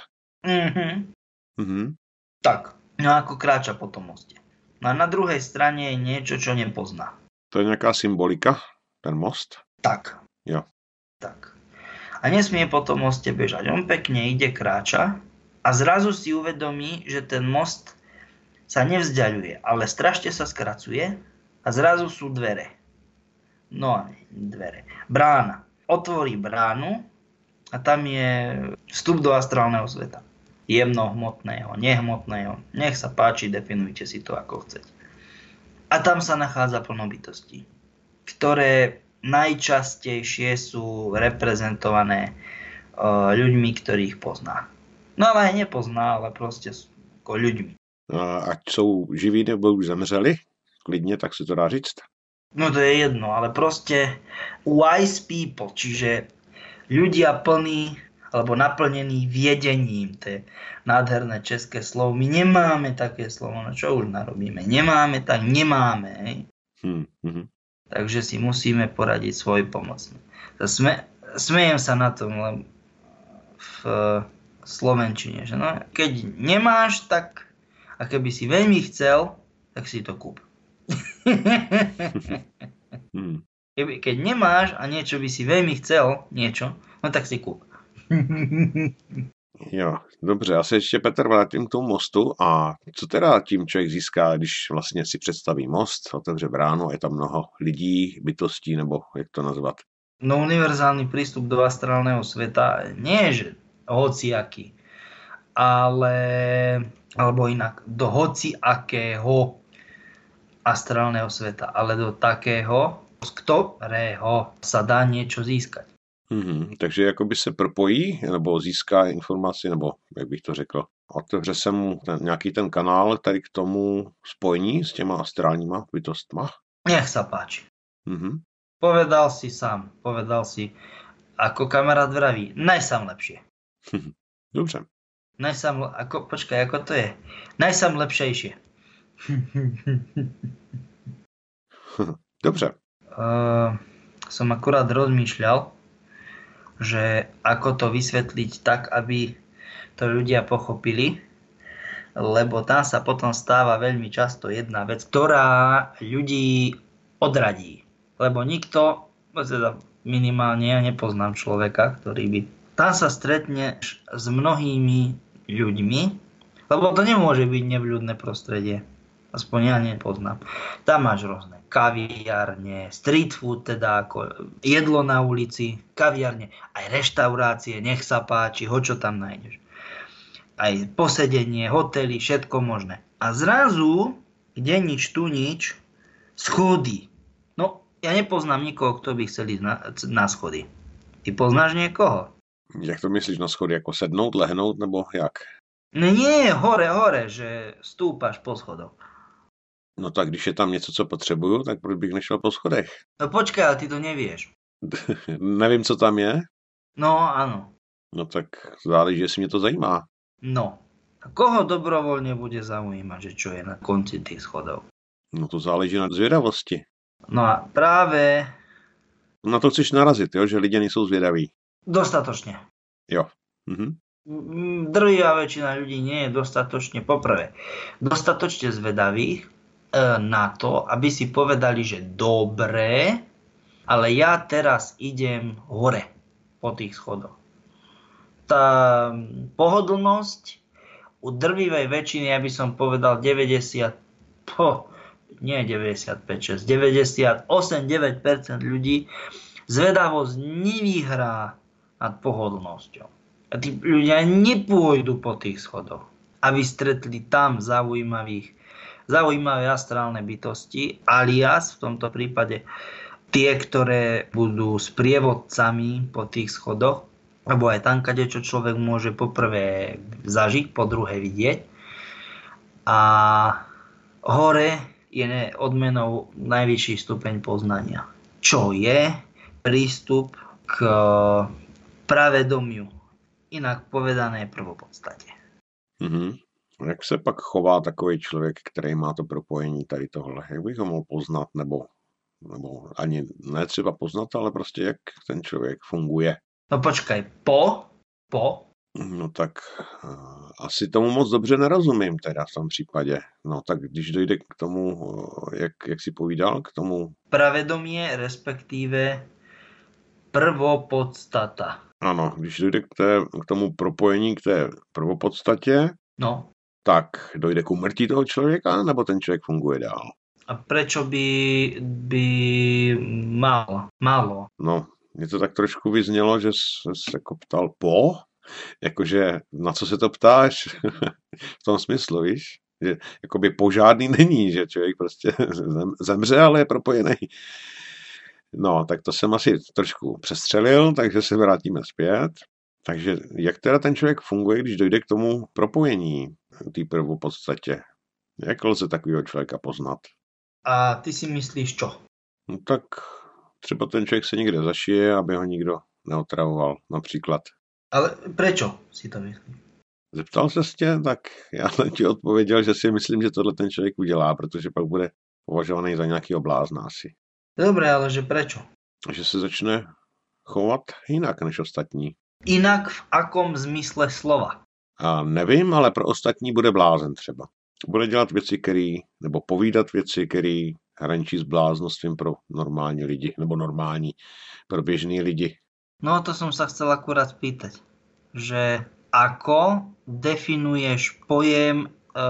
Tak, no ako kráča po tom moste. No a na druhej strane je niečo, čo nepozná. To je nejaká symbolika, ten most? Tak. Jo. Tak. A nesmie po tom moste bežať. On pekne ide, kráča a zrazu si uvedomí, že ten most sa nevzdialuje, ale strašne sa skracuje a zrazu sú dvere. No a dvere. Brána. Otvorí bránu a tam je vstup do astrálneho sveta. Jemnohmotného, nehmotného. Nech sa páči, definujte si to ako chcete. A tam sa nachádza plno bytostí, ktoré najčastejšie sú reprezentované ľuďmi, ktorých pozná. No ale aj nepozná, ale proste sú ako ľuďmi. Ať jsou živí nebo už zemřeli, klidně, tak se to dá říct. No to je jedno, ale proste wise people, čiže ľudia plní alebo naplnení viedením, to je nádherné české slovo. My nemáme také slovo, no čo už narobíme? Nemáme, tak nemáme. Hej? Takže si musíme poradiť svoj pomocný. Smejem sa na tom v slovenčine, že no, keď nemáš, tak a keby si veľmi chcel, tak si to kúp. Keď nemáš a niečo by si veľmi chcel, no tak si kúp. Jo, dobře, já se ještě, Petr, vrátím k tomu mostu. A co teda tím člověk získá, když vlastně si představí most, otevře bránu, je tam mnoho lidí, bytostí, nebo jak to nazvat? No univerzálny prístup do astrálneho sveta nie je, že hociaký, alebo inak, do hociakého astrálneho sveta, ale do takého, z ktorého sa dá niečo získať. Takže jakoby se propojí, nebo získá informaci, nebo jak bych to řekl, otevře se mu nějaký ten kanál tady k tomu spojení s těma astrálníma bytostma? Nech sa páči. Povedal si sám, ako kamarát vraví, najsám lepšie. Dobře. Počkaj, ako to je? Najsám lepšejšie. Dobře. Som akurát rozmýšľal, že ako to vysvetliť tak, aby to ľudia pochopili, lebo tam sa potom stáva veľmi často jedna vec, ktorá ľudí odradí. Lebo nikto, teda minimálne ja nepoznám človeka, ktorý by... Tam sa stretneš s mnohými ľuďmi, lebo to nemôže byť nevľudné prostredie. Aspoň ja nepoznám. Tam máš rôzne kaviárne, street food, teda ako jedlo na ulici, kaviárne, aj reštaurácie, nech sa páči, čo tam nájdeš. Aj posedenie, hotely, všetko možné. A zrazu, kde nič, tu nič, schody. No, ja nepoznám nikoho, kto by chcel ísť na schody. Ty poznáš niekoho? Jak to myslíš na schody? Jako sednout, lehnout, nebo jak? No nie, hore, že stúpaš po schodoch. No tak když je tam něco, co potřebuju, tak proč bych nešel po schodech? No počkaj, ale ty to nevieš. Nevím, co tam je? No, áno. No tak záleží, jestli mě to zajímá. No, a koho dobrovoľne bude zaujímať, že čo je na konci tých schodov? No to záleží na zvědavosti. No a práve... Na to chceš narazit, jo? Že lidé nejsou zvědaví. Dostatočne. Jo. Drvivá väčšina ľudí nie je dostatočne, poprvé, dostatočne zvedavých na to, aby si povedali, že dobre, ale ja teraz idem hore po tých schodoch. Tá pohodlnosť u drvivej väčšiny, ja by som povedal 98-9% ľudí zvedavosť nevyhrá nad pohodlnosťou. A tí ľudia nepôjdu po tých schodoch, aby stretli tam zaujímavé astrálne bytosti, alias v tomto prípade tie, ktoré budú sprievodcami po tých schodoch, lebo aj tam, kadečo človek môže poprvé zažiť, po druhé vidieť. A hore je odmenou najvyšší stupeň poznania, čo je prístup k pravedomiu, inak povedané prvopodstate. Jak se pak chová takový člověk, který má to propojení tady tohle? Jak bych ho mohl poznat, nebo ani ne třeba poznat, ale prostě jak ten člověk funguje? No počkaj, po? No tak asi tomu moc dobře nerozumím teda v tom případě. No tak když dojde k tomu, jak si povídal, k tomu... Pravedomie, respektíve prvopodstata. Ano, když dojde k tomu propojení, k té prvopodstatě, no, tak dojde k úmrtí toho člověka, nebo ten člověk funguje dál? A prečo by málo? No, mě to tak trošku vyznělo, že se jako ptal jakože na co se to ptáš? V tom smyslu, víš? Že jakoby požádný není, že člověk prostě zemře, ale je propojený. No, tak to jsem asi trošku přestřelil, takže se vrátíme zpět. Takže jak teda ten člověk funguje, když dojde k tomu propojení, té prvopodstatě? Jak lze takového člověka poznat? A ty si myslíš čo? No tak třeba ten člověk se někde zašije, aby ho nikdo neotravoval, například. Ale prečo si to myslíš? Zeptal se tě, tak já jsem ti odpověděl, že si myslím, že tohle ten člověk udělá, protože pak bude považovaný za nějakého blázna asi. Dobre, ale že prečo? Že se začne chovat jinak než ostatní. Inak v akom zmysle slova? A nevím, ale pro ostatní bude blázen třeba. Bude dělat věci, nebo povídat věci, které hraničí s bláznostvím pro normální lidi, nebo normální pro běžný lidi. No to som sa chcel akurát spýtať, že ako definuješ pojem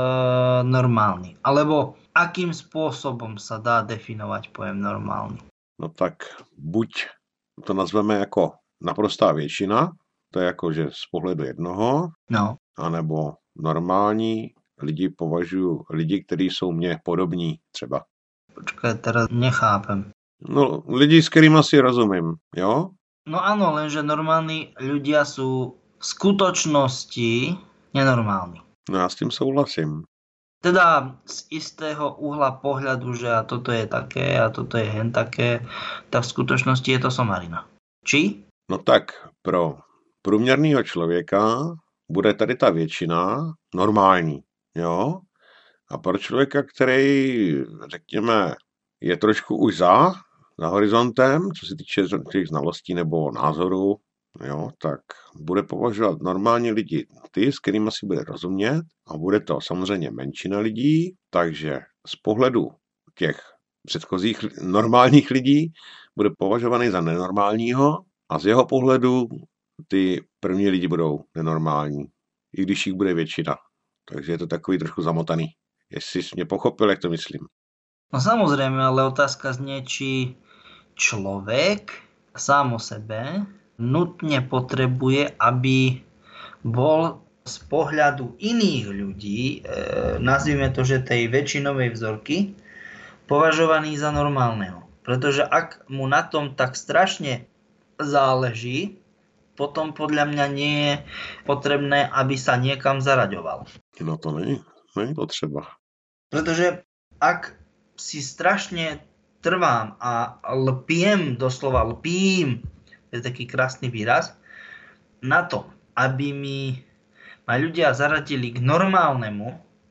normálny? Alebo akým spôsobom sa dá definovať pojem normálny? No tak buď to nazveme jako naprostá většina, to je jako, že z pohledu jednoho, no. Anebo normální lidi považují lidi, kteří jsou mně podobní třeba. Počkaj, teraz nechápem. No, lidi, s kterými si rozumím, jo? No áno, lenže normálni ľudia sú v skutočnosti nenormálni. No já s tím souhlasím. Teda z istého uhla pohľadu, že a toto je také a toto je hen také, tak v skutočnosti je to somarina. Či? No tak pro průměrného člověka bude tady ta většina normální, jo? A pro člověka, který, řekněme, je trošku už za horizontem, co se týče těch znalostí nebo názorů, jo, tak bude považovat normální lidi ty, s kterými si bude rozumět, a bude to samozřejmě menšina lidí, takže z pohledu těch předchozích normálních lidí bude považovaný za nenormálního a z jeho pohledu ty první lidi budou nenormální, i když jich bude většina. Takže je to takový trošku zamotaný. Jestli jsi mě pochopil, jak to myslím. No samozrejme, ale otázka znie, či človek sám o sebe nutne potrebuje, aby bol z pohľadu iných ľudí, nazvime to, že tej väčšinovej vzorky, považovaný za normálneho. Pretože ak mu na tom tak strašne záleží, potom podľa mňa nie je potrebné, aby sa niekam zaraďoval. No to není potřeba. Pretože ak si strašne trvám a lpiem, doslova lpím, je taký krásny výraz, na to, aby ma ľudia zaradili k normálnemu,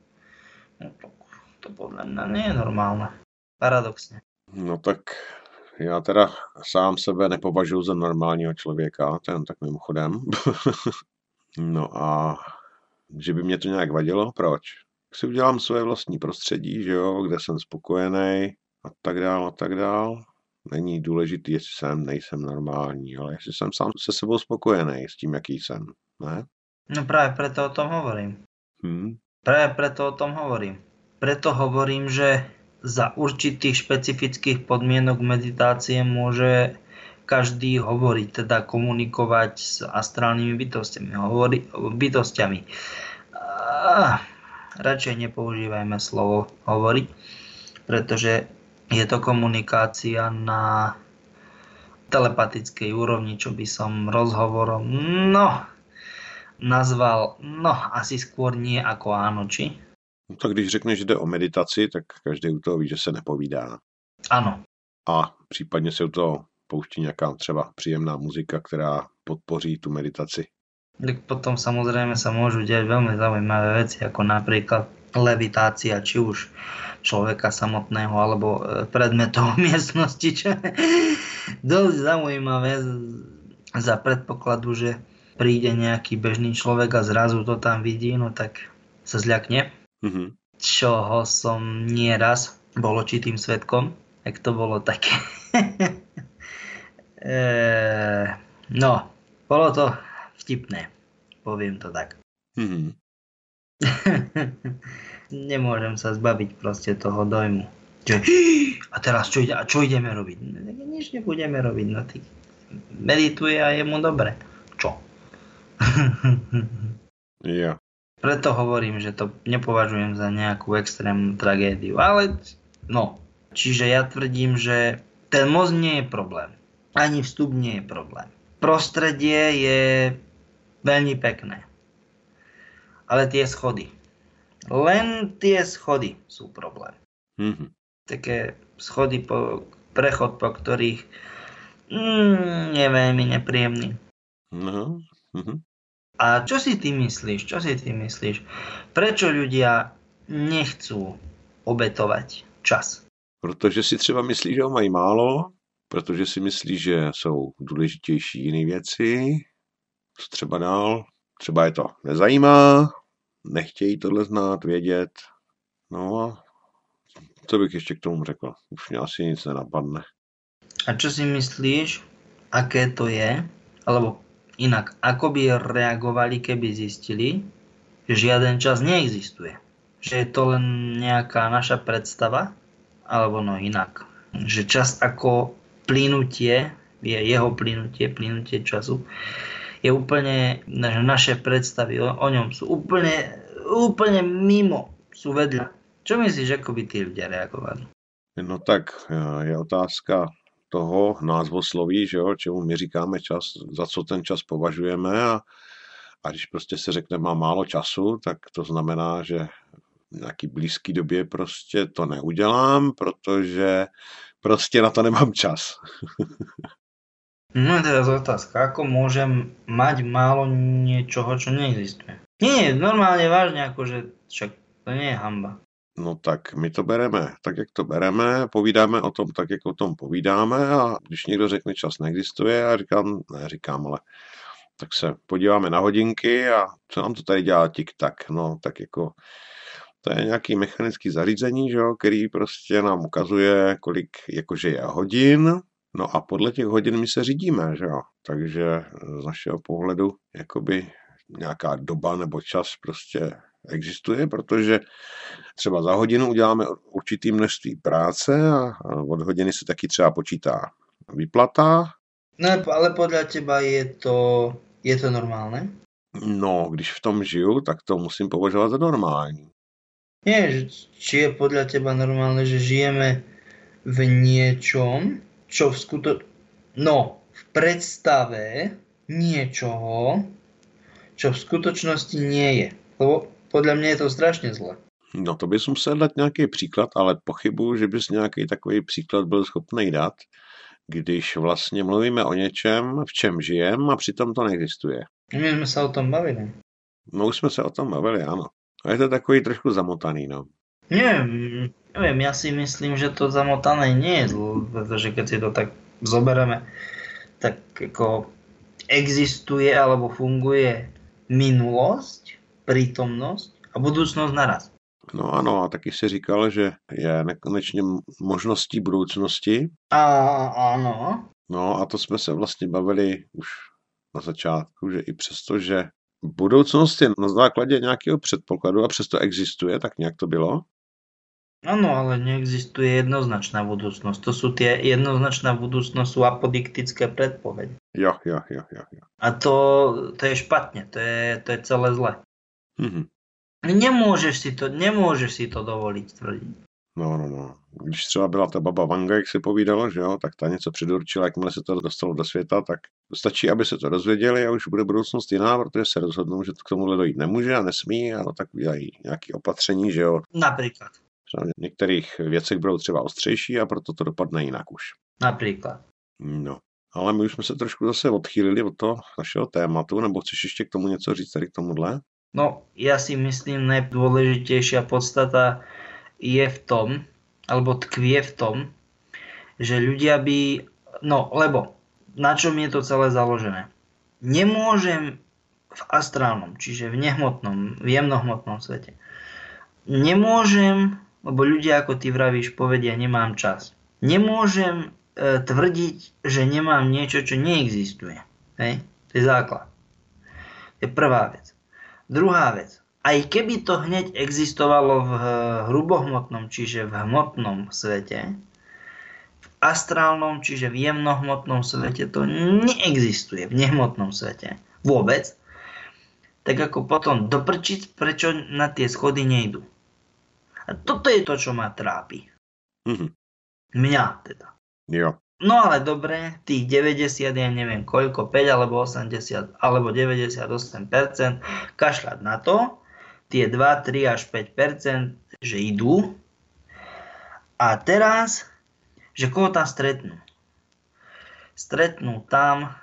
no to podľa mňa nie je normálne. Paradoxne. No tak já teda sám sebe nepovažuji za normálního člověka, to jen tak mimochodem. No a že by mě to nějak vadilo? Proč? Si udělám své vlastní prostředí, že jo, kde jsem spokojený a tak dál a tak dál. Není důležitý, jestli jsem, nejsem normální, ale jestli jsem sám se sebou spokojený s tím, jaký jsem, ne? No práve preto o tom hovorím. Práve preto o tom hovorím. Preto hovorím, že za určitých špecifických podmienok meditácie môže každý hovoriť, teda komunikovať s astrálnymi bytostiami. Radšej nepoužívajme slovo hovoriť, pretože je to komunikácia na telepatickej úrovni, čo by som rozhovorom nazval, asi skôr nie ako áno, či? No tak když řekneš, že jde o meditaci, tak každý u toho ví, že se nepovídá. Áno. A případně se u toho pouští nějaká třeba příjemná muzika, která podpoří tu meditaci. Tak potom samozrejme sa môžu diať veľmi zaujímavé veci, ako napríklad levitácia, či už človeka samotného, alebo predmetov v miestnosti, čo je dosť zaujímavé za predpokladu, že príde nejaký bežný človek a zrazu to tam vidí, no tak sa zľakne. Čoho som nieraz bol očitým svedkom, jak to bolo také. Bolo to vtipné, poviem to tak. Nemôžem sa zbaviť proste toho dojmu. A teraz čo ideme robiť? Nič nebudeme robiť, no ty medituje a je mu dobre. Čo? Yeah. Preto hovorím, že to nepovažujem za nejakú extrémnu tragédiu, ale čiže ja tvrdím, že ten most nie je problém. Ani vstup nie je problém. Prostredie je veľmi pekné. Ale tie schody. Len tie schody sú problém. Také schody, prechod, po ktorých je veľmi nepríjemný. A čo si ty myslíš? Prečo ľudia nechcú obetovať čas? Protože si třeba myslí, že ho mají málo, protože si myslí, že jsou důležitější jiné věci, co třeba dál, třeba je to nezajímá, nechtějí tohle znát, vědět. No a co bych ještě k tomu řekl? Už mě asi nic nenapadne. A čo si myslíš, aké to je? Alebo inak, ako by reagovali, keby zistili, že žiaden čas neexistuje? Že je to len nejaká naša predstava? Alebo inak. Že čas ako plynutie, jeho plynutie času, je úplne, naše predstavy o ňom sú úplne mimo, sú vedľa. Čo myslíš, ako by tí ľudia reagovali? No tak je otázka toho názvosloví, že jo, čemu my říkáme čas, za co ten čas považujeme a když prostě se řekne má málo času, tak to znamená, že v nějaký blízký době prostě to neudělám, protože prostě na to nemám čas. No je teraz otázka, ako môžem mať málo niečoho, čo neexistuje? Nie, normálne vážne, akože však to nie je hanba. No tak my to bereme tak, jak to bereme, povídáme o tom tak, jak o tom povídáme a když někdo řekne čas neexistuje, já říkám, ale tak se podíváme na hodinky a co nám to tady dělá tik-tak, no tak jako to je nějaký mechanický zařízení, že jo, který prostě nám ukazuje, kolik jakože je hodin, no a podle těch hodin my se řídíme, že jo, takže z našeho pohledu jakoby nějaká doba nebo čas prostě existuje, protože třeba za hodinu uděláme určitý množství práce a od hodiny se taky třeba počítá výplata. No ale podľa teba je to normálne? No, když v tom žiju, tak to musím považovat za normální. Nie, či je podľa teba normálne, že žijeme v niečom, čo v predstave niečoho, čo v skutočnosti nie je. Lebo podľa mňa je to strašne zle. No to bys musel dát nějaký příklad, ale pochybuju, že bys nějaký takový příklad byl schopný dát, když vlastně mluvíme o něčem, v čem žijeme a přitom to neexistuje. My jsme se o tom bavili. No už jsme se o tom bavili, ano. A je to takový trošku zamotaný, no. Neviem, ja si myslím, že to zamotané nie je zlo, pretože keď si to tak zobereme, tak ako existuje alebo funguje minulosť, prítomnosť a budúcnosť naraz. No ano, a taky si říkal, že je nekonečně možností budoucnosti. Áno. No a to jsme se vlastně bavili už na začátku, že i přesto, že budoucnost je na základě nějakého předpokladu a přesto existuje, tak nějak to bylo? Áno, ale neexistuje jednoznačná budúcnosť. To sú tie jednoznačná budúcnosť, sú apodiktické predpovede. Jo. A to je špatne, to je celé zle. Mhm. Nemôžeš si to dovoliť tvrdiť. No. Když třeba byla ta baba Vanga, jak se povídalo, že jo, tak ta něco předurčila, jakmile se to dostalo do světa, tak stačí, aby se to dozvěděli a už bude budoucnost jiná, protože se rozhodnou, že to k tomuhle dojít nemůže a nesmí a no, tak udělají nějaké opatření, že jo. Napríklad. V některých věcech budou třeba ostřejší a proto to dopadne jinak už. Napríklad. No, ale my už jsme se trošku zase odchýlili od toho našeho tématu, nebo chceš ještě k tomu něco říct tady k tomuhle? No, ja si myslím, najdôležitejšia podstata je v tom, alebo tkvie v tom, že ľudia by... No, lebo na čom je to celé založené? Nemôžem v astrálnom, čiže v nehmotnom, v jemnohmotnom svete. Nemôžem, lebo ľudia, ako ty vravíš, povedia, nemám čas. Nemôžem tvrdiť, že nemám niečo, čo neexistuje. Hej? To je základ. To je prvá vec. Druhá vec. Aj keby to hneď existovalo v hrubohmotnom, čiže v hmotnom svete, v astrálnom, čiže v jemnohmotnom svete to neexistuje, v nehmotnom svete. Vôbec. Tak ako potom doprčiť, prečo na tie schody nejdu. A toto je to, čo ma trápi. Mhm. Mňa teda. Jo. No ale dobre, tých 90, ja neviem koľko, 5 alebo 80 alebo 98%, kašľať na to, tie 2, 3 až 5%, že idú. A teraz, že koho tam stretnú? Stretnú tam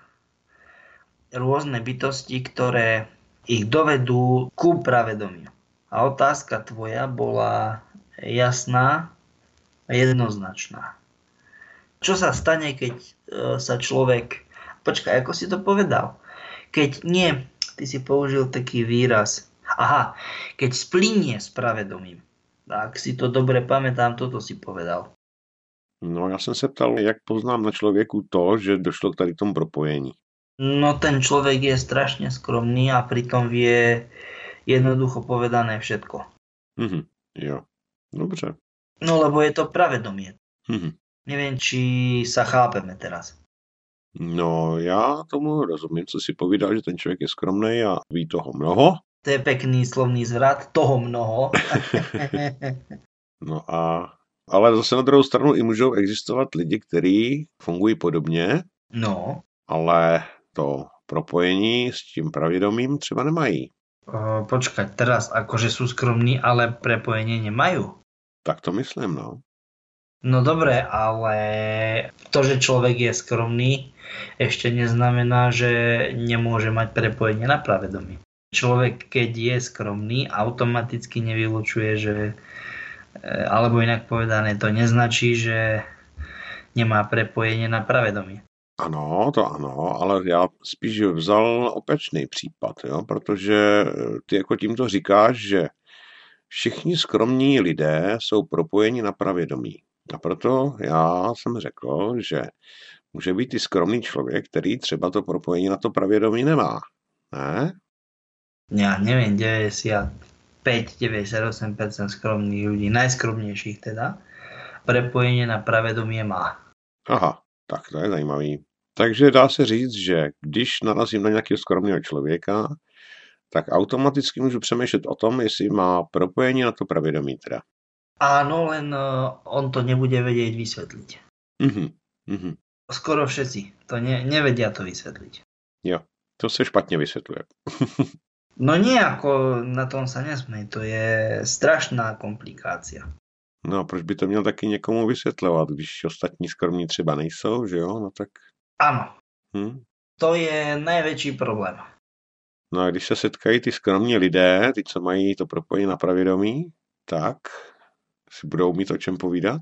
rôzne bytosti, ktoré ich dovedú ku pravedomiu. A otázka tvoja bola jasná a jednoznačná. Čo sa stane, keď sa človek... Počkaj, ako si to povedal? Keď nie, ty si použil taký výraz. Aha, keď splynie s pravedomím. Ak si to dobre pamätám, toto si povedal. No, já jsem se ptal, jak poznám na člověku to, že došlo k tady tomu propojení. No, ten človek je strašne skromný a pritom vie jednoducho povedané všetko. Mhm. Jo. Dobře. No, lebo je to pravedomie. Mhm. Neviem, či sa chápeme teraz. No, já tomu rozumím, co si povídal, že ten člověk je skromný a ví toho mnoho. To je pekný slovný zvrat, toho mnoho. No ale zase na druhou stranu i můžou existovat lidi, kteří fungují podobně, No. ale to propojení s tím pravědomím třeba nemají. Počkať, teraz akože sú skromní, ale prepojenie nemajú. Tak to myslím, no. No dobre, ale to, že človek je skromný, ešte neznamená, že nemôže mať prepojenie na pravedomie. Človek, keď je skromný, automaticky nevylučuje, že, alebo inak povedané, to neznačí, že nemá prepojenie na pravedomie. Ano, to ano, ale já spíš vzal opačný případ, jo, protože ty jako tímto říkáš, že všichni skromní lidé jsou propojeni na pravědomí. A proto já jsem řekl, že může být i skromný člověk, který třeba to propojení na to pravědomí nemá. Ne? Ja neviem, 95-98% skromných ľudí, najskromnejších teda, prepojenie na pravedomie má. Aha, tak to je zajímavý. Takže dá se říct, že když narazím na nějakého skromného člověka, tak automaticky můžu přemýšlet o tom, jestli má propojení na to pravědomí teda. Áno, len on to nebude vedieť vysvetliť. Mhm. Skoro všetci to nevedia to vysvetliť. Jo, to se špatně vysvětluje. No nejako na tom sa nesmej, to je strašná komplikácia. No a proč by to měl taky někomu vysvětlovat, když ostatní skromní třeba nejsou, že jo, no tak... Áno, to je najväčší problém. No a když se setkají ty skromní lidé, ty, co mají to propojení na pravědomí, tak si budou mít o čem povídat?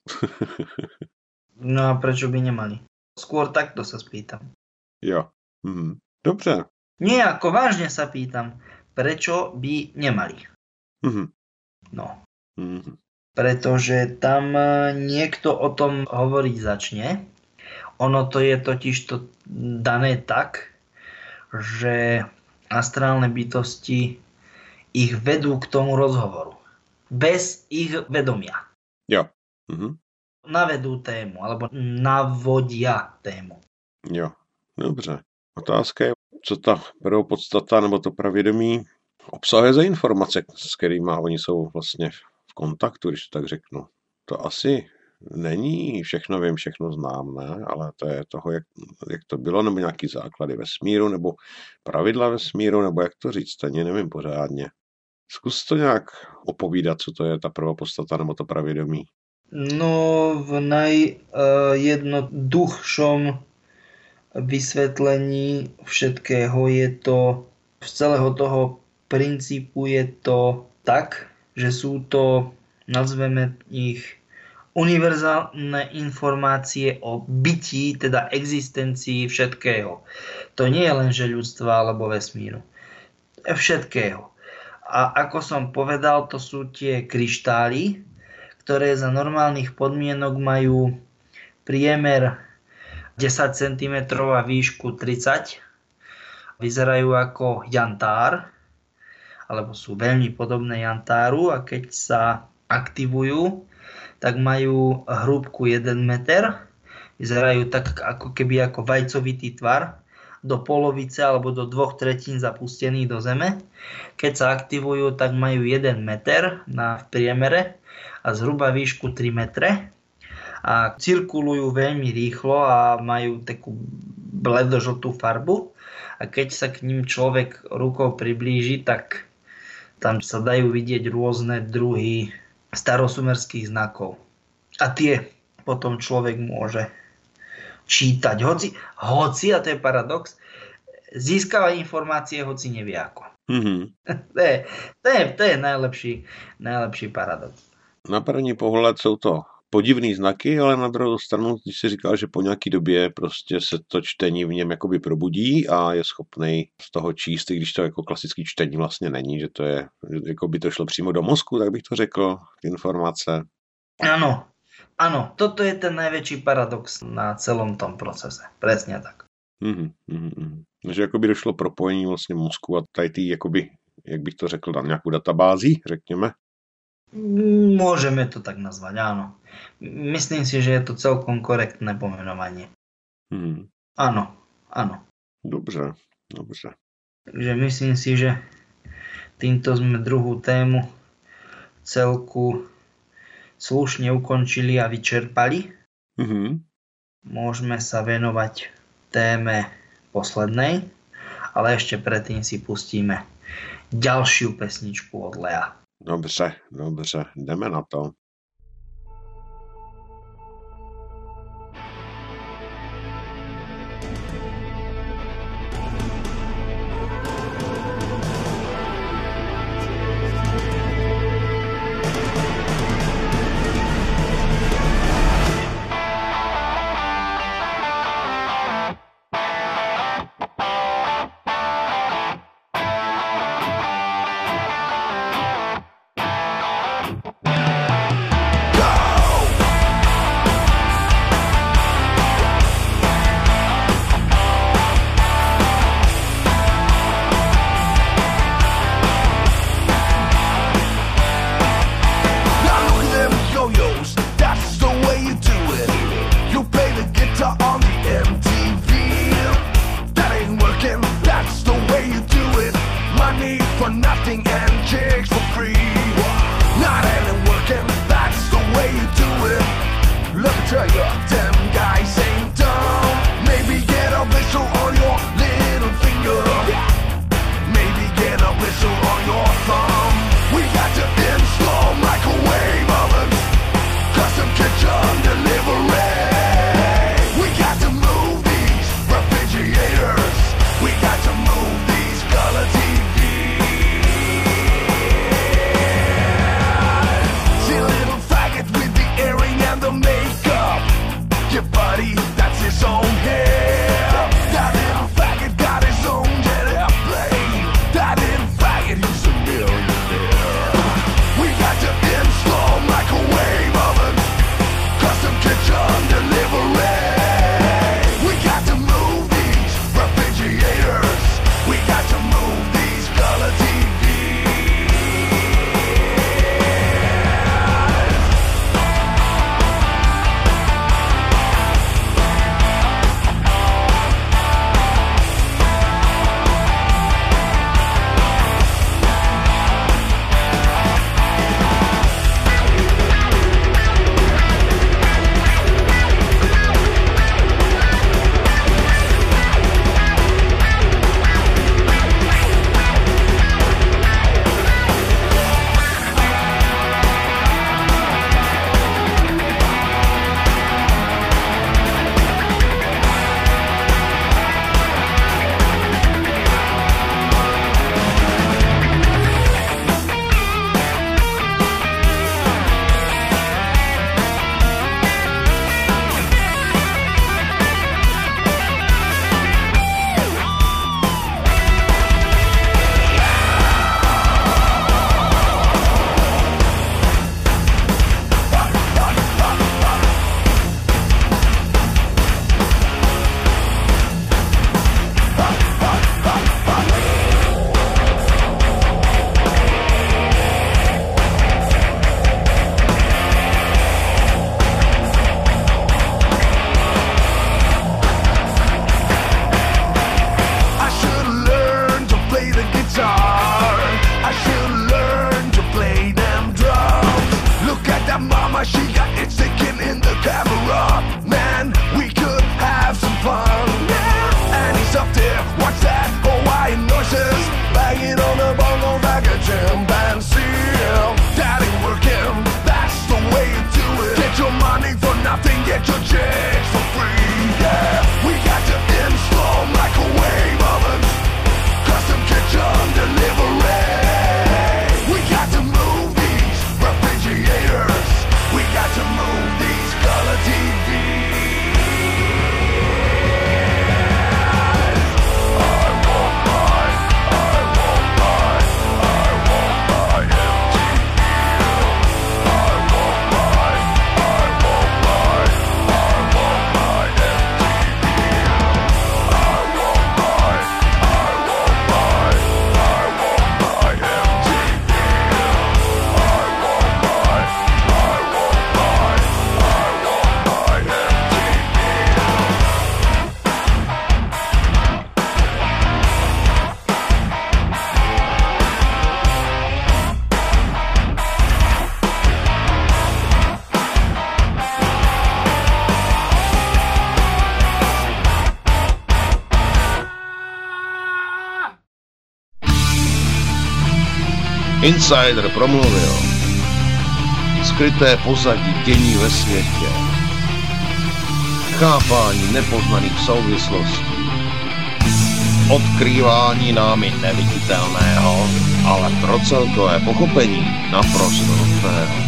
No a prečo by nemali? Skôr takto sa spýtam. Jo. Dobře. Nie, ako vážne sa pýtam, prečo by nemali? Mhm. No, Mhm. pretože tam niekto o tom hovoriť začne. Ono to je totiž to dané tak, že astrálne bytosti ich vedú k tomu rozhovoru. Bez ich vedomia. Jo. Mhm. Navedú tému, alebo navodia tému. Jo. Dobře. Otázka je, co ta prvopodstata nebo to pravědomí obsahuje za informace, s kterými oni jsou vlastně v kontaktu, když to tak řeknu. To asi není všechno vím, všechno znám, ne? Ale to je toho, jak to bylo, nebo nějaký základy vesmíru, nebo pravidla vesmíru, nebo jak to říct, ani nevím pořádně. Zkus to nějak opovídat, co to je ta prvopodstata nebo to pravědomí. No, v najjednoduchšom vysvetlení všetkého je to, z celého toho princípu je to tak, že sú to, nazveme ich, univerzálne informácie o bytí, teda existencii všetkého. To nie je len, že ľudstva alebo vesmíru. Všetkého. A ako som povedal, to sú tie kryštály, ktoré za normálnych podmienok majú priemer 10 cm a výšku 30. Vyzerajú ako jantár, alebo sú veľmi podobné jantáru, a keď sa aktivujú, tak majú hrúbku 1 meter. Vyzerajú tak ako keby ako vajcovitý tvar, do polovice alebo do 2/3 zapustený do zeme. Keď sa aktivujú, tak majú 1 meter v priemere a zhruba výšku 3 metre. A cirkulujú veľmi rýchlo a majú takú bledožltú farbu. A keď sa k ním človek rukou priblíži, tak tam sa dajú vidieť rôzne druhy starosumerských znakov. A tie potom človek môže čítať. Hoci, a to je paradox, získava informácie, hoci nevie ako. Mm-hmm. To je najlepší paradox. Na první pohled jsou to podivný znaky, ale na druhou stranu, když si říkal, že po nějaký době prostě se to čtení v něm jakoby probudí a je schopný z toho číst, i když to jako klasický čtení vlastně není, že to je, jako by to šlo přímo do mozku, tak bych to řekl, informace. Áno, toto je ten najväčší paradox na celom tom procese. Presne tak. Takže jakoby došlo propojení vlastně mozku a tady tý, jakoby, jak bych to řekl, na nějakou databází, řekněme. Môžeme to tak nazvať, áno. Myslím si, že je to celkom korektné pomenovanie. Áno. Dobře. Takže myslím si, že týmto sme druhú tému celku slušne ukončili a vyčerpali. Môžeme sa venovať téme poslednej, ale ešte predtým si pustíme ďalšiu pesničku od Lea. Dobře, jdeme na to. Insider promluvil. Skryté pozadí dění ve světě. Chápání nepoznaných souvislostí. Odkrývání námi neviditelného, ale pro celkové pochopení naprosto nutného.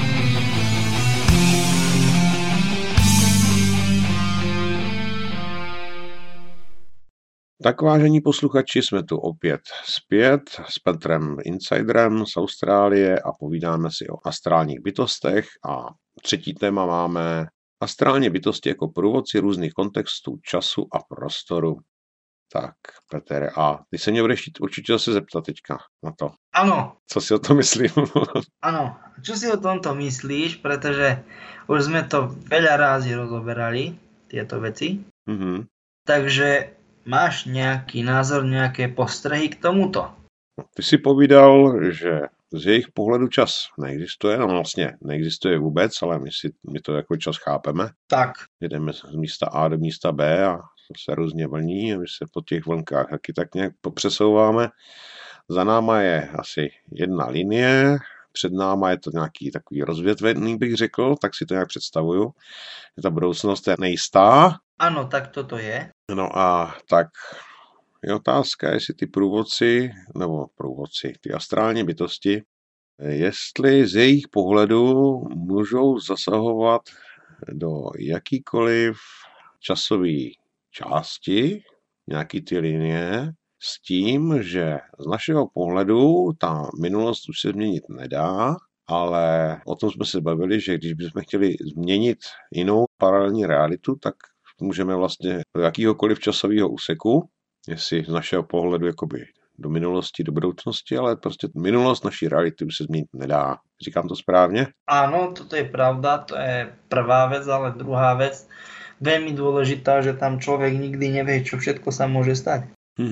Tak vážení posluchači, jsme tu opět zpět s Petrem Insiderem z Austrálie a povídáme si o astrálních bytostech a třetí téma máme astrální bytosti jako průvodci různých kontextů, času a prostoru. Tak, Petere, a ty se mě budeš určitě zase zeptat teďka na to. Áno. Co si o tom myslím? Áno. Čo si o tomto myslíš, pretože už sme to veľa rázy rozoberali, tieto veci. Mhm. Takže máš nejaký názor, nejaké postrehy k tomuto? Ty si povídal, že z jejich pohledu čas neexistuje, no vlastně neexistuje vůbec, ale my to jako čas chápeme. Tak. Jedeme z místa A do místa B a se různě vlní a my se po těch vlnkách taky tak nějak popřesouváme. Za náma je asi jedna linie, před náma je to nějaký takový rozvětvený, bych řekl, tak si to nějak představuju. Ta budoucnost je nejistá. Áno, tak toto je. No a tak je otázka, jestli ty průvodci, ty astrální bytosti, jestli z jejich pohledu můžou zasahovat do jakýkoliv časové části, nějaký ty linie, s tím, že z našeho pohledu ta minulost už se změnit nedá, ale o tom jsme se bavili, že když bychom chtěli změnit jinou paralelní realitu, tak můžeme vlastně do jakýhokoliv časového úseku, jestli z našeho pohledu jakoby do minulosti, do budoucnosti, ale prostě minulost naší reality už se změnit nedá. Říkám to správně? Áno, toto je pravda, to je prvá vec, ale druhá vec, veľmi dôležitá, že tam človek nikdy nevie, čo všetko sa môže stať.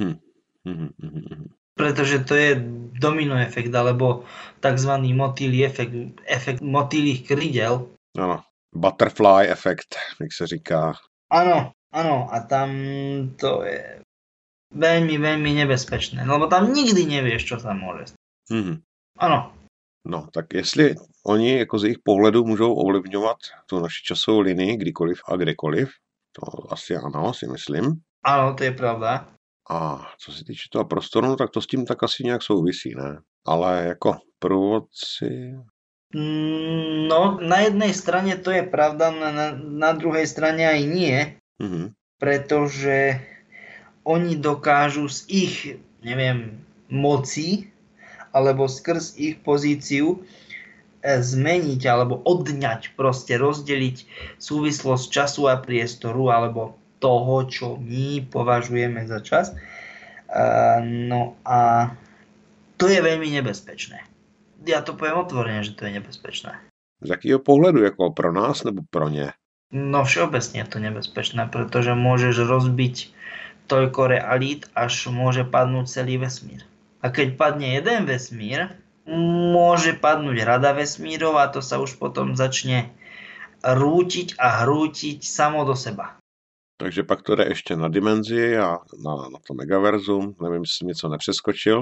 Pretože to je domino efekt, alebo takzvaný motýlí efekt motýlých krídel. Ano, butterfly efekt, jak se říká. Áno, a tam to je veľmi, veľmi nebezpečné, lebo tam nikdy nevieš, čo sa môže stať. Áno. No, tak jestli oni jako z jejich pohledu můžou ovlivňovat tu naši časovou linii kdykoliv a kdekoliv, to asi ano, si myslím. Áno, to je pravda. A co se týče toho prostoru, tak to s tím tak asi nějak souvisí, ne? Ale jako průvodci... No, na jednej strane to je pravda, na druhej strane aj nie, pretože oni dokážu z ich, moci, alebo skrz ich pozíciu zmeniť, alebo odňať, proste rozdeliť súvislosť času a priestoru, alebo toho, čo my považujeme za čas. No a to je veľmi nebezpečné. Ja to poviem otvorene, že to je nebezpečné. Z jakého pohledu, jako pro nás nebo pro ně? No všeobecne je to nebezpečné, pretože môžeš rozbiť toľko realít, až môže padnúť celý vesmír. A keď padne jeden vesmír, môže padnúť rada vesmírov a to sa už potom začne rútiť a hrútiť samo do seba. Takže pak to jde ještě na dimenzi a na to megaverzum. Nevím, jestli jsem něco nepřeskočil.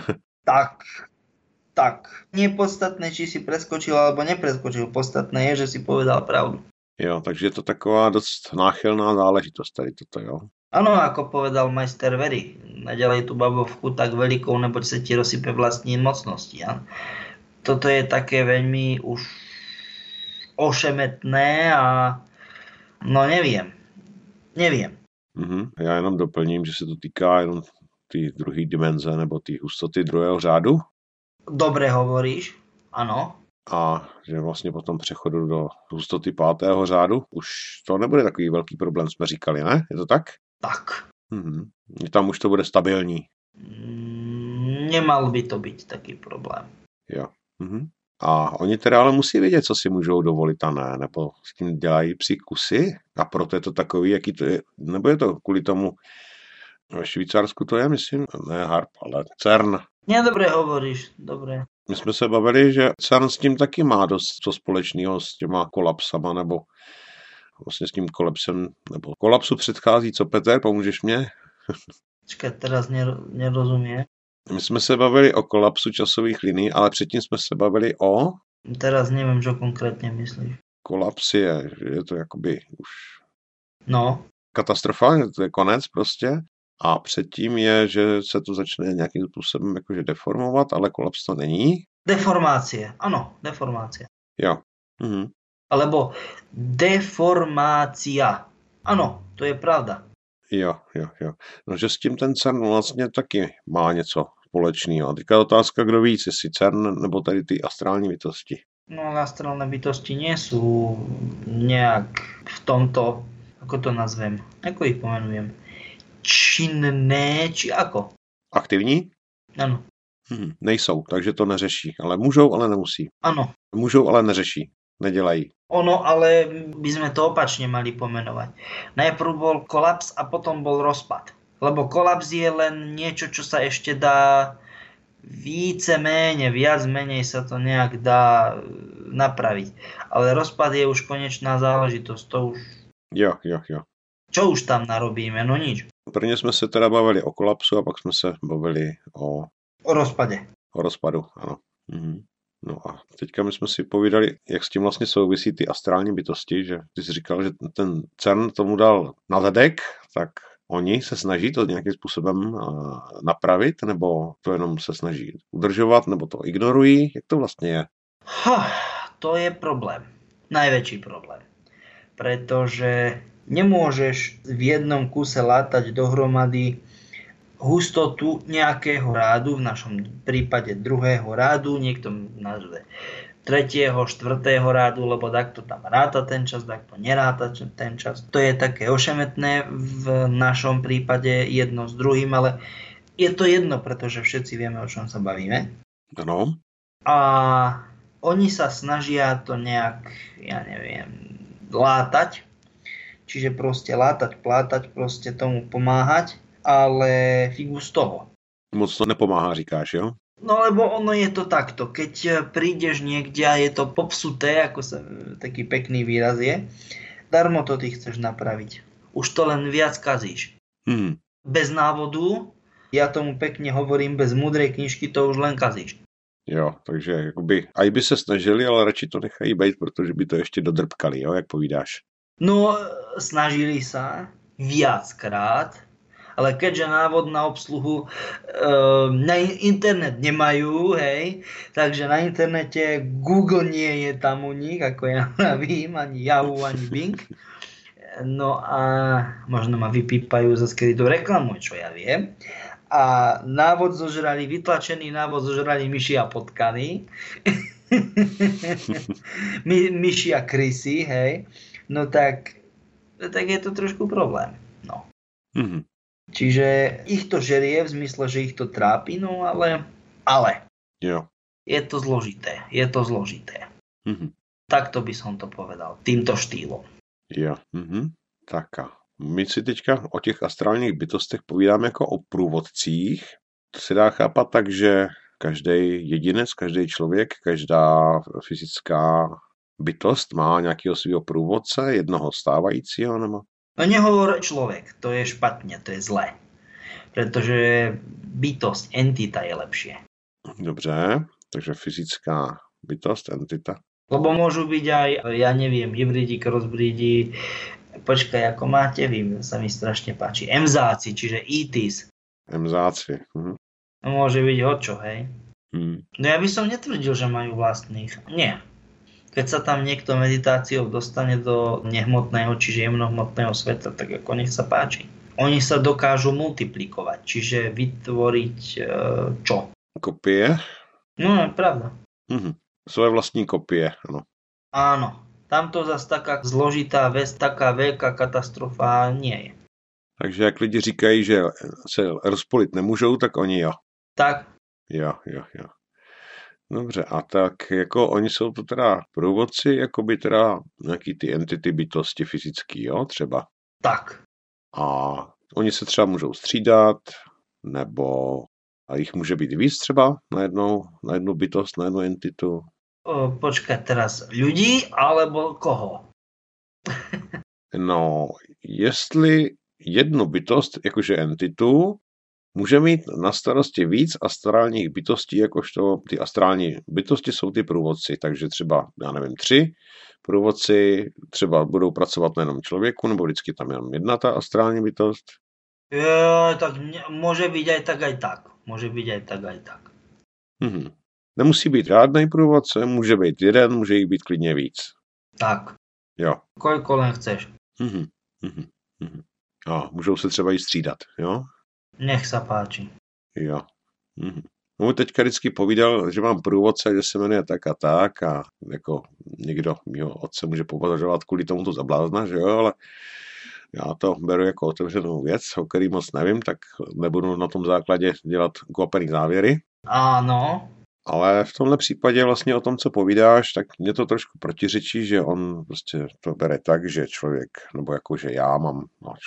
Tak. Nie je podstatné, či si preskočil alebo nepreskočil. Podstatné je, že si povedal pravdu. Jo, takže je to taková dost náchylná záležitost tady toto, jo. Áno, ako povedal majster Very, naďalej tú babovku tak veľkou, neboť sa ti rozsype vlastní mocnosti. Ja? Toto je také veľmi už ošemetné a no neviem. Já jenom doplním, že se to týká jenom té druhé dimenze nebo té hustoty druhého řádu. Dobre hovoríš, áno. A že vlastně po tom přechodu do hustoty 5. řádu už to nebude takový velký problém, jsme říkali, ne? Je to tak? Tak. Tam už to bude stabilní. Nemal by to být taký problém. Jo. A oni teda ale musí vědět, co si můžou dovolit a ne, nebo s tím dělají psi kusy a proto je to takový, jaký to je, nebo je to kvůli tomu, ve Švýcarsku to je, myslím, ne HAARP, ale CERN. Dobre hovoríš, dobre. My jsme se bavili, že CERN s tím taky má dost co společného s těma kolapsama, nebo vlastně s tím kolapsem, nebo kolapsu předchází, co Petr, pomůžeš mě? Čakaj, teraz nerozumie. My jsme se bavili o kolapsu časových linií, ale předtím jsme se bavili o... Teraz neviem, čo konkrétne myslíš. Kolaps je to jakoby už... No. Katastrofa, to je konec prostě. A předtím je, že se to začne nějakým způsobem jakože deformovat, ale kolaps to není. Deformácie, áno, deformácia. Jo. Mhm. Alebo deformácia. Áno, to je pravda. Jo. No, že s tím ten CERN vlastně taky má něco společného. A teďka je otázka, kdo víc, jestli CERN nebo tady ty astrální bytosti. No, astrálne bytosti nie sú nejak v tomto, ako to nazvem, ako ich pomenujem, činné, či ako? Aktivní? Áno. Nejsou, takže to neřeší. Ale můžou, ale nemusí. Áno. Můžou, ale neřeší. Nedělají. Ono, ale by sme to opačne mali pomenovať. Najprv bol kolaps a potom bol rozpad. Lebo kolaps je len niečo, čo sa ešte dá viac menej sa to nejak dá napraviť. Ale rozpad je už konečná záležitosť. To už... Jo. Čo už tam narobíme? No nič. Prvně jsme se teda bavili o kolapsu a pak jsme se bavili o rozpade. O rozpadu, ano. No a teďka my jsme si povídali, jak s tím vlastně souvisí ty astrální bytosti, že ty jsi říkal, že ten CERN tomu dal na zadek, tak oni se snaží to nějakým způsobem napravit, nebo to jenom se snaží udržovat, nebo to ignorují? Jak to vlastně je? To je problém. Najväčší problém. Pretože nemôžeš v jednom kuse látať dohromady hustotu nejakého rádu, v našom prípade druhého rádu, niekto nazve tretieho, štvrtého rádu, lebo takto tam ráta ten čas, takto neráta ten čas. To je také ošemetné v našom prípade jedno s druhým, ale je to jedno, pretože všetci vieme, o čom sa bavíme. Ano. A oni sa snažia to nejak, ja neviem, látať. Čiže proste látať, plátať, proste tomu pomáhať. Ale figu z toho. Moc to nepomáhá, říkáš, jo? No lebo ono je to takto. Keď prídeš niekde a je to popsuté, ako sa taký pekný výraz je, darmo to ty chceš napraviť. Už to len viac kazíš. Bez návodu, ja tomu pekne hovorím, bez múdrej knižky to už len kazíš. Jo, takže jakoby, aj by se snažili, ale radši to nechají být, protože by to ještě dodrbkali, jo, jak povídáš. No, snažili sa viackrát, ale keďže návod na obsluhu na internet nemajú, hej, takže na internete Google nie je tam u nich, ako ja vím, ani Yahoo, ani Bing. No a možno ma vypípajú za skrytú reklamu, čo ja viem. A návod zožrali, vytlačený návod zožrali myši a potkany. Myši a krysy, hej. No tak je to trošku problém. No. Čiže ich to žerie v zmysle, že ich to trápi, no ale jo. Je to zložité. Takto by som to povedal, týmto štýlom. Jo. Tak a my si teďka o těch astrálních bytostech povídáme jako o průvodcích. To se dá chápat tak, že každý jedinec, každý člověk, každá fyzická bytost má nějakého svého průvodce, jednoho stávajícího, nebo? No nehovor človek, to je špatne, to je zlé. Pretože bytosť, entita je lepšie. Dobře, takže fyzická bytost, entita. Lebo môžu byť aj, ja neviem, hybridi, crossbridi, počkaj, ako máte vy, sa mi strašne páči. Emzáci, čiže ETs. Emzáci. Môže byť hočo, hej? No ja by som netvrdil, že majú vlastných. Nie. Keď sa tam niekto meditáciou dostane do nehmotného, čiže jemnohmotného sveta, tak ako nech sa páči. Oni sa dokážu multiplikovať, čiže vytvoriť čo? Kopie? No, je pravda. Svoje vlastní kopie, ano. Áno. Tamto zase taká zložitá vec, taká veľká katastrofa nie je. Takže jak lidi říkají, že se rozpolit nemůžou, tak oni jo. Tak. Jo. Dobře, a tak jako oni jsou to teda průvodci, jako by teda nějaký ty entity bytosti fyzický, jo, třeba. Tak. A oni se třeba můžou střídat, nebo a jich může být víc třeba na jednu bytost, na jednu entitu. Počkaj teraz, ľudí alebo koho? No, jestli jednu bytost, jakože entitu, může mít na starosti víc astrálních bytostí, jakožto ty astrální bytosti jsou ty průvodci, takže třeba, já nevím, 3 průvodci třeba budou pracovat na jenom člověku, nebo vždycky tam jenom jedna ta astrální bytost. Tak môže byť aj tak, aj tak. Môže byť aj tak, aj tak. Nemusí být žádný průvodce, může být jeden, může jich být klidně víc. Tak. Jo. Koľko len chceš. A můžou se třeba i střídat, jo? Nech sa páči. Jo. On teďka vždycky povídal, že mám průvodce, že se jmenuje tak a jako někdo mýho otce může považovat kvůli tomuto za blázna, že jo, ale já to beru jako otevřenou věc, o který moc nevím, tak nebudu na tom základě dělat ukvapený závěry. Áno. Ale v tomhle případě vlastně o tom, co povídáš, tak mě to trošku protiřečí, že on prostě to bere tak, že člověk, nebo jakože já mám,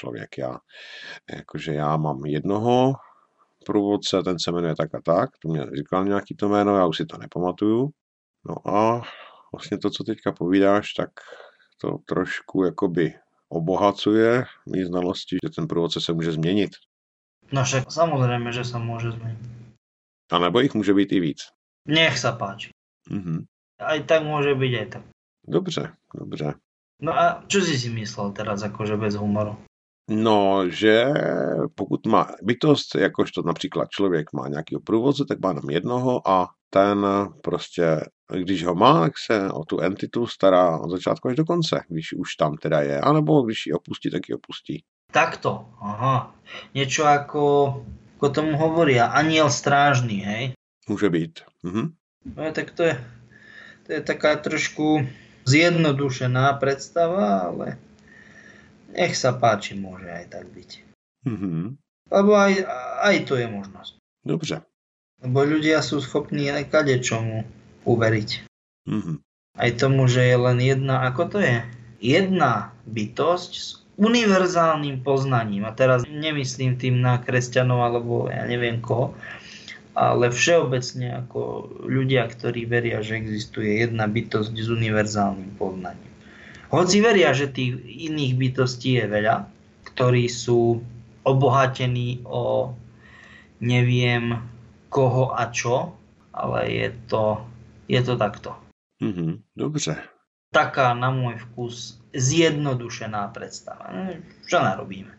jakože já mám jednoho průvodce, ten se jmenuje tak a tak, to mě říkal nějaký to jméno, já už si to nepamatuju. No a vlastně to, co teďka povídáš, tak to trošku jakoby obohacuje mý znalosti, že ten průvodce se může změnit. No však samozrejme, že sa môže zmeniť. A nebo jich může být i víc. Nech sa páči. Aj tak môže byť, aj tak. Dobře. No a čo si myslel teraz akože bez humoru? No, že pokud má bytost, jakožto například člověk má nějakého průvodce, tak má jenom jednoho a ten prostě, když ho má, tak se o tu entitu stará od začátku až do konce, když už tam teda je, anebo když ji opustí, tak ji opustí. Takto, aha. Niečo ako tomu hovoria, aniel strážny, hej? Může být. No tak to je taká trošku zjednodušená predstava, ale nech sa páči, môže aj tak byť. Lebo aj to je možnosť. Dobře. Lebo ľudia sú schopní aj kadečomu uveriť. Aj tomu, že je len jedna, ako to je? Jedna bytosť s univerzálnym poznaním. A teraz nemyslím tým na kresťanov alebo ja neviem koho, ale všeobecne ako ľudia, ktorí veria, že existuje jedna bytosť s univerzálnym poznaním. Hoci veria, že tých iných bytostí je veľa, ktorí sú obohatení o neviem koho a čo, ale je to takto. Dobře. Taká na môj vkus zjednodušená predstava. Čo narobíme?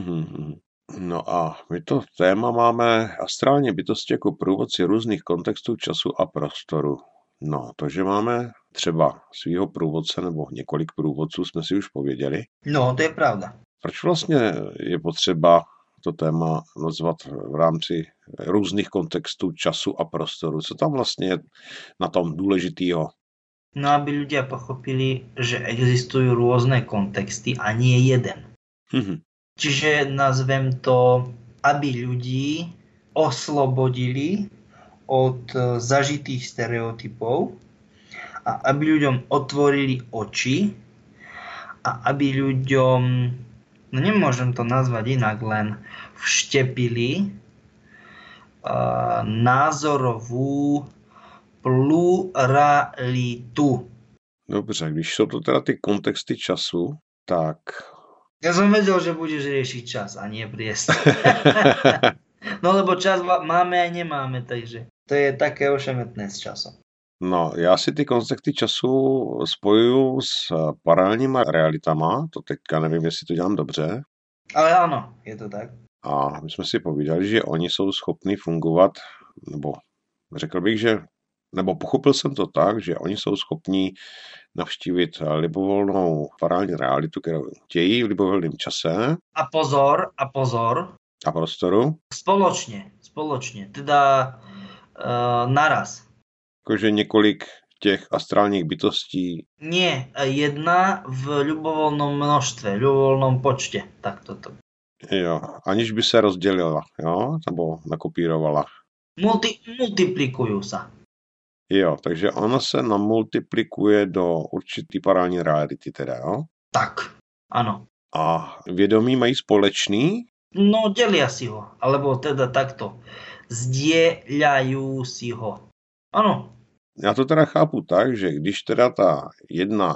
No a my to téma máme astrální bytosti jako průvodci různých kontextů času a prostoru. No, to, že máme třeba svýho průvodce nebo několik průvodců, jsme si už pověděli. No, to je pravda. Proč vlastně je potřeba to téma nazvat v rámci různých kontextů času a prostoru? Co tam vlastně je na tom důležitýho? No, aby ľudia pochopili, že existujú rôzne kontexty a nie jeden. Čiže nazvem to, aby ľudí oslobodili od zažitých stereotypov a aby ľuďom otvorili oči a aby ľuďom, no nemôžem to nazvať inak, len vštepili názorovú pluralitu. Dobře, když jsou to teda ty kontexty času, tak... Ja som vedel, že budeš riešiť čas a nie priestor. No lebo čas máme a nemáme, takže to je také ošemetné s časom. No, já si ty kontexty času spojuju s paralelníma realitama, to teďka nevím, jestli to dělám dobře. Ale áno, je to tak. A my jsme si povídali, že oni jsou schopni fungovat, nebo řekl bych, že nebo pochopil jsem to tak, že oni jsou schopní navštívit libovolnou paralelní realitu, kterou chtějí v libovolném čase. A pozor. A prostoru. Spoločne. Teda naraz. Jakože několik těch astrálních bytostí. Nie, jedna v ľubovoľnom množstve, ľubovoľnom počte. Tak toto. Jo, aniž by se rozdělila, jo, nebo nakopírovala. Multiplikujú sa. Jo, takže ona se namultiplikuje do určitý paralelní reality teda, jo? Tak, áno. A vědomí mají společný? No, delia si ho, alebo teda takto. Zdieľajú si ho. Áno. Já to teda chápu tak, že když teda ta jedna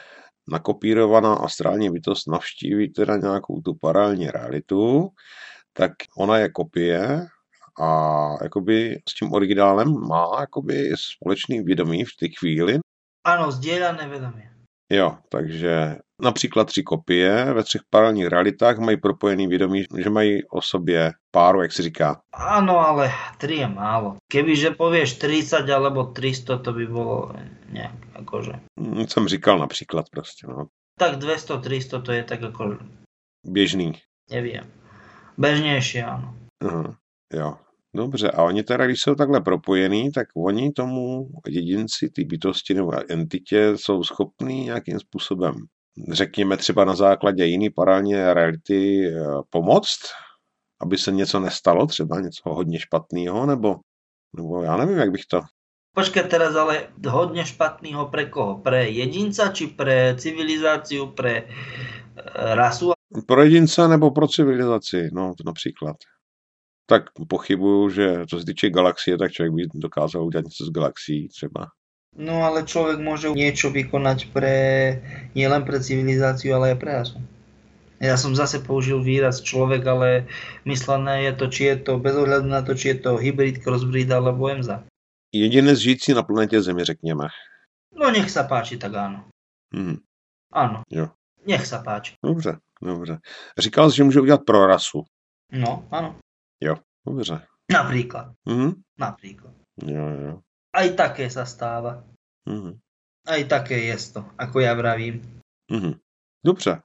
nakopírovaná astrální bytost navštíví teda nějakou tu paralelní realitu, tak ona je kopie a jakoby s tím originálem má jakoby společný vědomí v té chvíli. Áno, zdieľané vedomie. Jo, takže například 3 kopie ve 3 paralelních realitách mají propojený vědomí, že mají o sobě páru, jak se říká. Áno, ale 3 je málo. Kebyže povieš 30 alebo 300, to by bolo nejak akože... Jsem říkal například prostě, no. Tak 200, 300 to je tak ako... Běžný. Neviem. Bežnejšie, áno. Aha, jo. Dobře, a oni teda, když jsou takhle propojený, tak oni tomu jedinci, ty bytosti nebo entitě jsou schopní nějakým způsobem, řekněme třeba na základě jiný paralelní reality, pomoct, aby se něco nestalo, třeba něco hodně špatného, nebo já nevím, jak bych to... Počkaj teraz, ale hodne špatného pre koho? Pre jedinca, či pre civilizáciu, pre rasu? Pro jedince nebo pro civilizaci, no například. Tak pochybuju, že co se týče galaxie, tak člověk by dokázal udělat něco s galaxií třeba. No ale človek môže niečo vykonať nielen pre civilizáciu, ale aj pre rasu. Ja som zase použil výraz človek, ale myslené je to, či je to bez ohľadu na to, či je to hybrid, crossbreed alebo EMSA. Jedinec žijící na planetě Zemi, řekněme. No nech sa páči, tak áno. Áno. Jo. Nech sa páči. Dobře. Říkal jsi, že může udělat pro rasu. No, áno. Jo, dobře. Napríklad. Napríklad. Jo. Aj také sa stáva. Aj také je to, ako ja vravím. Dobře.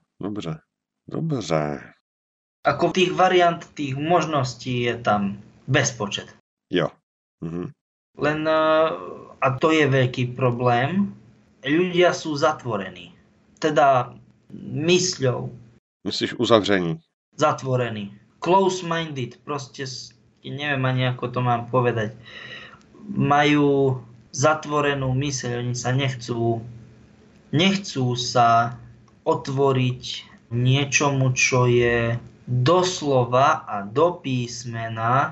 Ako tých variant, tých možností je tam bezpočet. Jo. Len, a to je veľký problém, ľudia sú zatvorení. Teda mysľou. Myslíš uzavření? Zatvorení. Close-minded, proste, neviem ani ako to mám povedať. Majú zatvorenú myseľ, oni sa nechcú sa otvoriť niečomu, čo je doslova a do písmena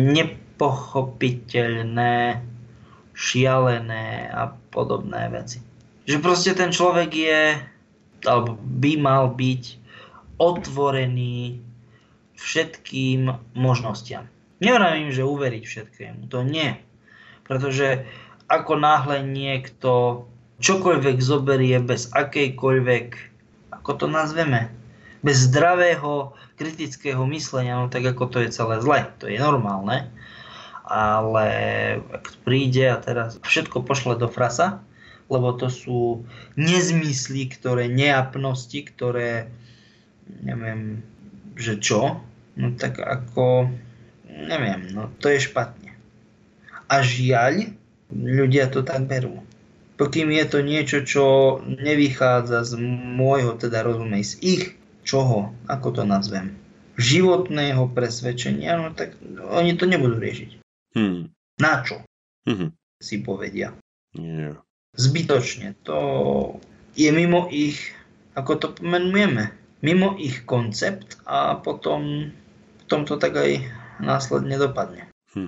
nepochopiteľné, šialené a podobné veci. Že proste ten človek je, alebo by mal byť otvorený všetkým možnostiam. Nevravím, že uveriť všetkému, to nie. Pretože ako náhle niekto čokoľvek zoberie bez akejkoľvek, ako to nazveme, bez zdravého kritického myslenia, no tak ako to je celé zle, to je normálne. Ale ak príde a teraz všetko pošle do frasa, lebo to sú nezmysly, neapnosti, ktoré neviem, že čo, no tak ako, neviem, no to je špatne. A žiaľ, ľudia to tak berú. Pokým je to niečo, čo nevychádza z môjho, teda rozumej, z ich, čoho, ako to nazvem, životného presvedčenia, no tak oni to nebudú riešiť. Na čo? Si povedia. Yeah. Zbytočne. To je mimo ich, ako to pomenujeme, mimo ich koncept a potom to tak aj následne dopadne.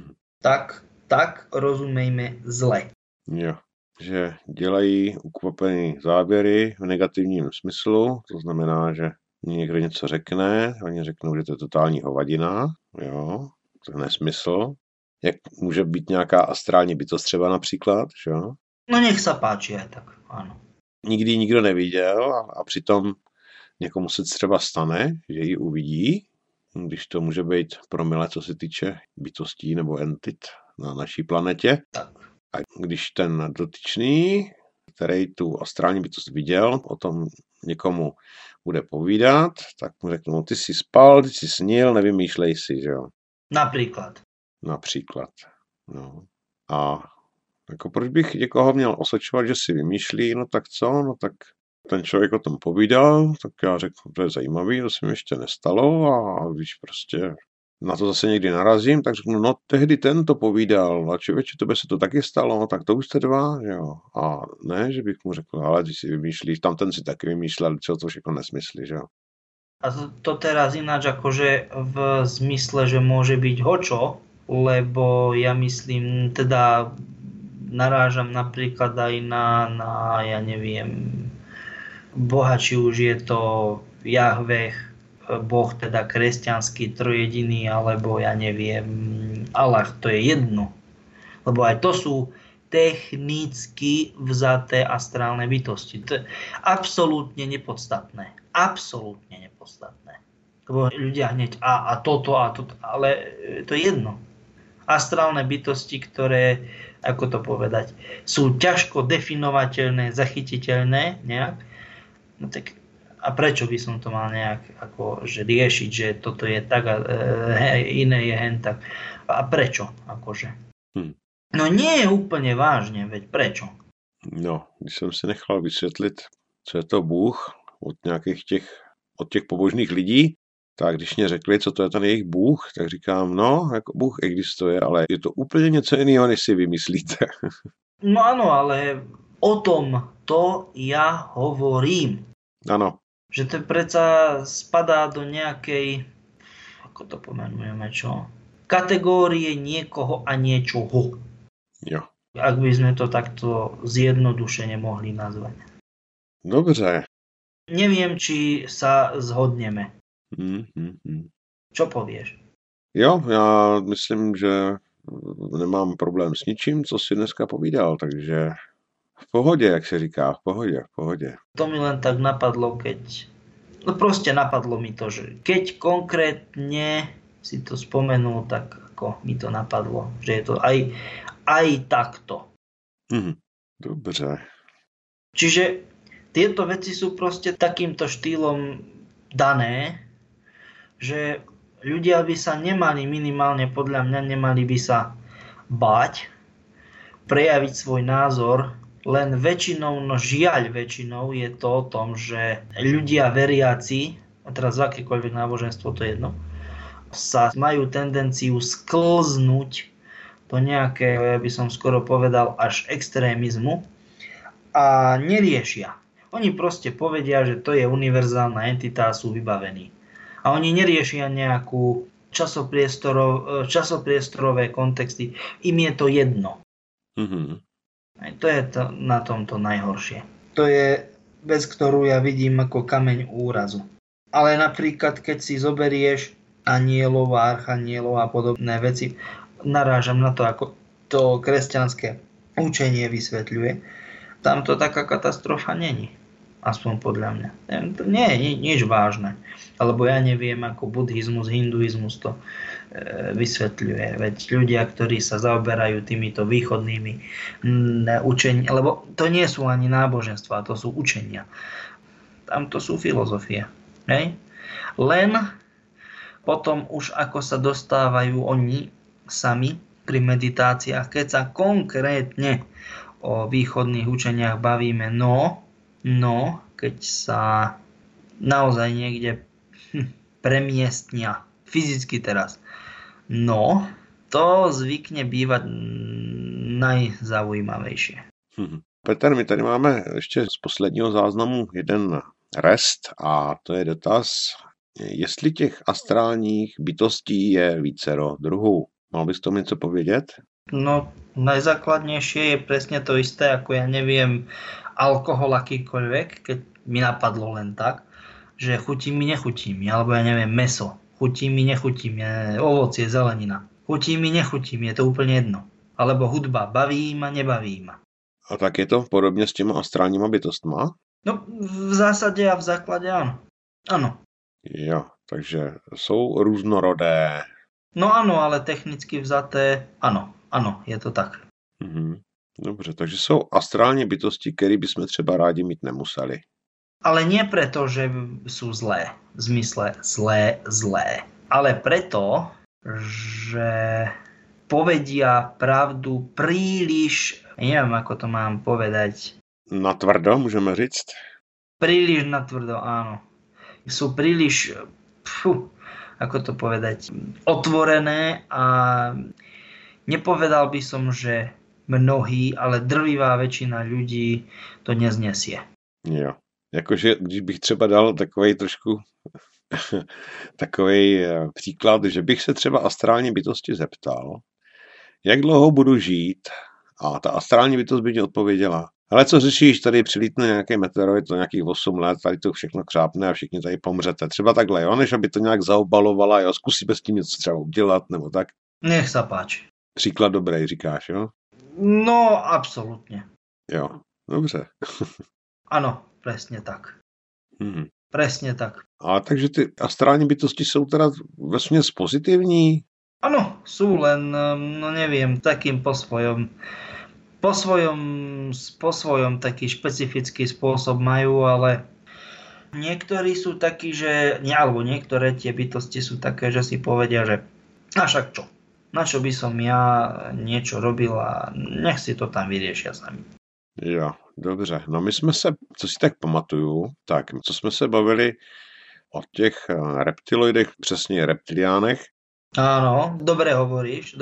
Tak rozumejme zle. Jo, že dělají ukvapený záběry v negativním smyslu, to znamená, že někdo něco řekne, oni řeknou, že to je totální hovadina, jo, to je nesmysl. Jak může být nějaká astrální bytost třeba například, jo? No nech sa páči aj tak, áno. Nikdy nikdo neviděl a přitom někomu se třeba stane, že ji uvidí, když to může být promile, co se týče bytostí nebo entit na naší planetě. Tak. A když ten dotyčný, který tu astrální bytost viděl, o tom někomu bude povídat, tak mu řeknu, no ty jsi spal, ty jsi snil, nevymýšlej si, že jo. Například. No. A jako proč bych někoho měl osočovat, že si vymýšlí, no tak co, no tak ten člověk o tom povídal, tak já řeknu, to je zajímavý, to se mi ještě nestalo a když prostě na to zase někdy narazím, tak řeknu, no tehdy ten to povídal a člověče, tebe se to taky stalo, tak to už jste dva, jo. A ne, že bych mu řekl, ale když si vymýšlíš, tam ten si taky vymýšlel, čo to všechno nesmyslí, že jo. A to teraz ináč akože v zmysle, že môže byť hočo, lebo ja myslím, teda narážam napríklad aj na ja neviem, Boha, či už je to Jahveh, Boh teda kresťanský, trojediný, alebo ja neviem, Allah, to je jedno. Lebo aj to sú technicky vzaté astrálne bytosti. To je absolútne nepodstatné. Absolútne nepodstatné. Lebo ľudia hneď a toto, ale to je jedno. Astrálne bytosti, ktoré, ako to povedať, sú ťažko definovateľné, zachytiteľné nejak, no tak a prečo by som to mal nejak akože riešiť, že toto je tak a iné je hen tak. A prečo? Akože? No nie je úplne vážne, veď prečo? No, když jsem si nechal vysvětlit, co je to Bůh od těch pobožných lidí, tak když mě řekli, co to je ten jejich Bůh, tak říkám, no, jako Bůh existuje, ale je to úplně něco jiného, než si vymyslíte. No ano, ale o tom to ja hovorím. Ano. Že to predsa spadá do nejakej, ako to pomenujeme, čo? Kategórie niekoho a niečoho. Jo. Ak by sme to takto zjednodušene mohli nazvať. Dobře. Neviem, či sa zhodneme. Čo povieš? Jo, já myslím, že nemám problém s ničím, co si dneska povídal, takže v pohodě, jak se říká, v pohodě. To mi len tak napadlo, no proste napadlo mi to, že keď konkrétne si to spomenul, tak ako mi to napadlo, že je to aj takto. Dobře. Čiže tieto veci sú proste takýmto štýlom dané, že ľudia by sa nemali, minimálne podľa mňa, nemali by sa báť prejaviť svoj názor, len väčšinou, no žiaľ väčšinou je to o tom, že ľudia veriaci, a teraz v akékoľvek náboženstvo, to je jedno, sa majú tendenciu sklznúť do nejakého, ja by som skoro povedal, až extrémizmu a neriešia. Oni proste povedia, že to je univerzálna entita a sú vybavení. A oni neriešia nejakú časopriestorové kontexty. Im je to jedno. To je to na tomto najhoršie. To je vec, ktorú ja vidím ako kameň úrazu. Ale napríklad, keď si zoberieš anielov a archanielov a podobné veci, narážam na to, ako to kresťanské učenie vysvetľuje, tam to taká katastrofa není. Aspoň podľa mňa. To nie je nič vážne. Alebo ja neviem, ako buddhizmus, hinduizmus to vysvetľuje. Veď ľudia, ktorí sa zaoberajú týmito východnými učeniami, lebo to nie sú ani náboženstvá, to sú učenia. Tam to sú filozofie. Hej? Len potom už ako sa dostávajú oni sami pri meditáciách, keď sa konkrétne o východných učeniach bavíme, no, keď sa naozaj niekde premiestnia, fyzicky teraz, no, to zvykne bývať najzaujímavejšie. Petr, my tady máme ještě z posledního záznamu jeden rest a to je dotaz, jestli těch astrálních bytostí je vícero druhů. Mal bys tomu něco povědět? No, najzákladnejšie je presne to isté, ako ja neviem, alkohol akýkoľvek, keď mi napadlo len tak, že chutí mi, nechutí mi, alebo ja neviem, mäso, chutí mi, nechutí mi, ovocie, zelenina, chutí mi, nechutí mi, je to úplne jedno. Alebo hudba, baví ma, nebaví ma. A tak je to podobně s těma astrálníma bytostma? No, v zásade a v základe áno. Áno. Jo, takže jsou různorodé. No áno, ale technicky vzaté, áno, je to tak. Dobře, takže jsou astrální bytosti, které bychom třeba rádi mít nemuseli. Ale nie preto, že sú zlé, v zmysle zlé, ale preto, že povedia pravdu príliš, neviem ako to mám povedať. Natvrdo, můžeme říct? Príliš natvrdo, áno. Sú príliš, ako to povedať, otvorené a nepovedal by som, že mnohí, ale drvivá väčšina ľudí to neznesie. Jo, jakože když bych třeba dal takovej trošku takovej příklad, že bych se třeba astrální bytosti zeptal, jak dlouho budu žít, a ta astrální bytost by mě odpověděla, Ale co řešíš, tady přilítne nějaký meteoroid za nějakých 8 let, tady to všechno křápne a všichni tady pomřete. Třeba takhle, jo, než aby to nějak zaobalovala, jo, zkusíme s tím něco třeba udělat, nebo tak. Nech sa páči. Příklad dobrý, říkáš, jo? No, absolútne. Jo, dobře. Áno, presne tak. Mhm. Presne tak. A takže ty astrální bytosti jsou teda vesměs pozitivní? Áno, sú len, no neviem, takým po svojom taký špecifický spôsob majú, ale niektorí sú takí, že, alebo niektoré tie bytosti sú také, že si povedia, že a však čo, na čo by som ja niečo robil a nech si to tam vyriešia sami. Jo, dobře. No my jsme se, co si tak pamatuju, tak co jsme se bavili o těch reptiloidech, přesně reptiliánech. Áno, dobre hovoríš.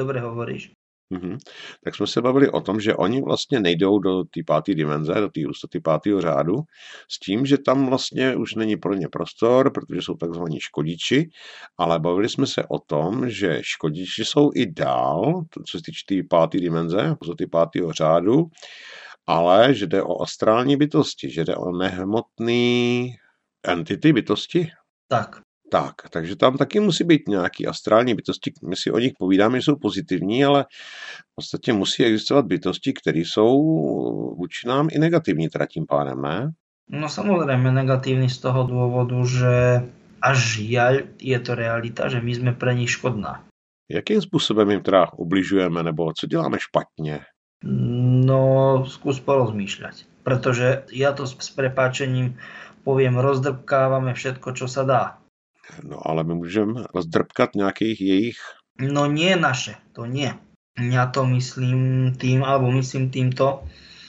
Tak jsme se bavili o tom, že oni vlastně nejdou do té 5. dimenze, do té hustoty 5. řádu, s tím, že tam vlastně už není pro ně prostor, protože jsou takzvaní škodiči, ale bavili jsme se o tom, že škodiči jsou i dál, co se týče té 5. dimenze, hustoty 5. řádu, ale že jde o astrální bytosti, že jde o nehmotné entity bytosti. Tak, takže tam taky musí být nějaký astrální bytosti, my si o nich povídáme, že jsou pozitivní, ale v podstatě musí existovat bytosti, které jsou vůči nám i negativní teda tím pádem, ne? No samozrejme negatívny z toho dôvodu, že až žiaľ je to realita, že my sme pre nich škodná. Jakým způsobem jim teda ubližujeme, nebo co děláme špatně? No, skús porozmýšľať, pretože ja to s prepáčením poviem, rozdrbkávame všetko, čo sa dá. No ale my můžeme rozdrbkat nějakých jejich... No nie naše, to nie. Ja to myslím týmto,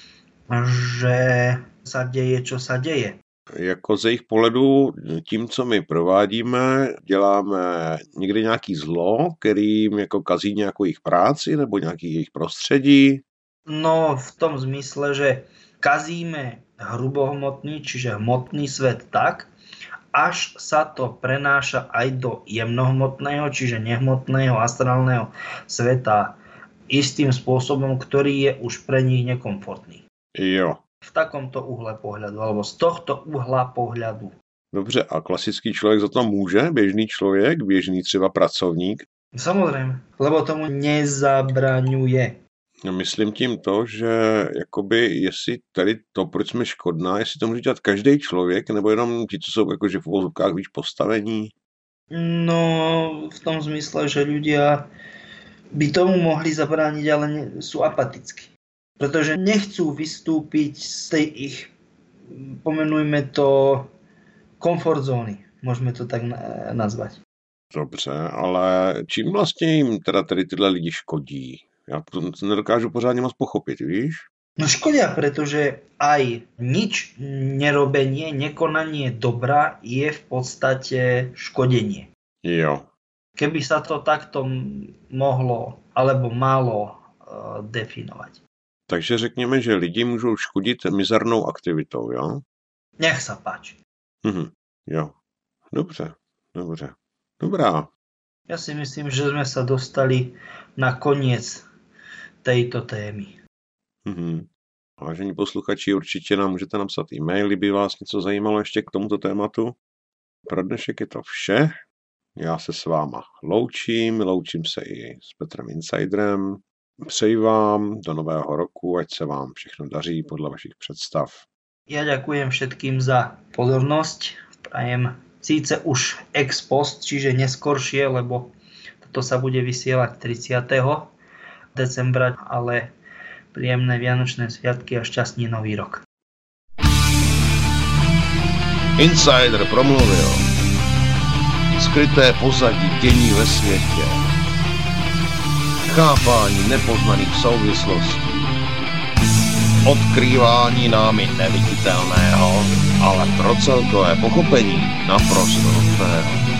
že sa deje, čo sa deje. Jako z jejich pohledu tím, co my provádíme, děláme někdy nějaký zlo, kterým jako kazí nějakou jejich práci nebo nějaký jejich prostředí. No v tom zmysle, že kazíme hrubohmotný, čiže hmotný svet tak, až sa to prenáša aj do jemnohmotného, čiže nehmotného astrálneho sveta istým spôsobom, ktorý je už pre nich nekomfortný. Jo. V takomto uhle pohľadu, alebo z tohto uhla pohľadu. Dobře, a klasický člověk za to může? Běžný člověk, běžný třeba pracovník? Samozrejme, lebo tomu nezabraňuje. Myslím tím to, že jakoby jestli tady to, proč jsme škodná, jestli to může dělat každý člověk, nebo jenom ti, co jsou jakože v uvozovkách víc postavení? No, v tom zmysle, že ľudia by tomu mohli zabrániť, ale sú apatickí. Pretože nechcú vystúpiť z tej ich, pomenujme to, komfort zóny. Môžeme to tak nazvať. Dobře, ale čím vlastně jim teda tady tyhle lidi škodí? Já to nedokážu pořádně moc pochopit, víš? No škodia, pretože aj nič nerobenie, nekonanie dobra je v podstate škodenie. Jo. Keby sa to takto mohlo alebo malo definovať. Takže řekněme, že lidi můžou škodit mizernou aktivitou, jo? Nech sa páči. Jo. Dobře. Dobrá. Ja si myslím, že sme sa dostali na koniec tejto témy. Vážení posluchači, určitě nám můžete napsat e-mail, kdyby vás něco zajímalo ještě k tomuto tématu. Pro dnešek je to vše. Já se s váma loučím se i s Petrem Insiderem. Přeji vám do nového roku, ať se vám všechno daří podle vašich představ. Ja ďakujem všetkým za pozornosť. Prajem síce už ex post, čiže neskoršie, lebo toto sa bude vysielať 30. decembra, ale príjemné vianočné sviatky a šťastný nový rok. Insider promluvil. Skryté pozadí dění ve světě. Chápání nepoznaných souvislostí. Odkrývání námi neviditelného, ale pro celkové pochopení naprosto nutného.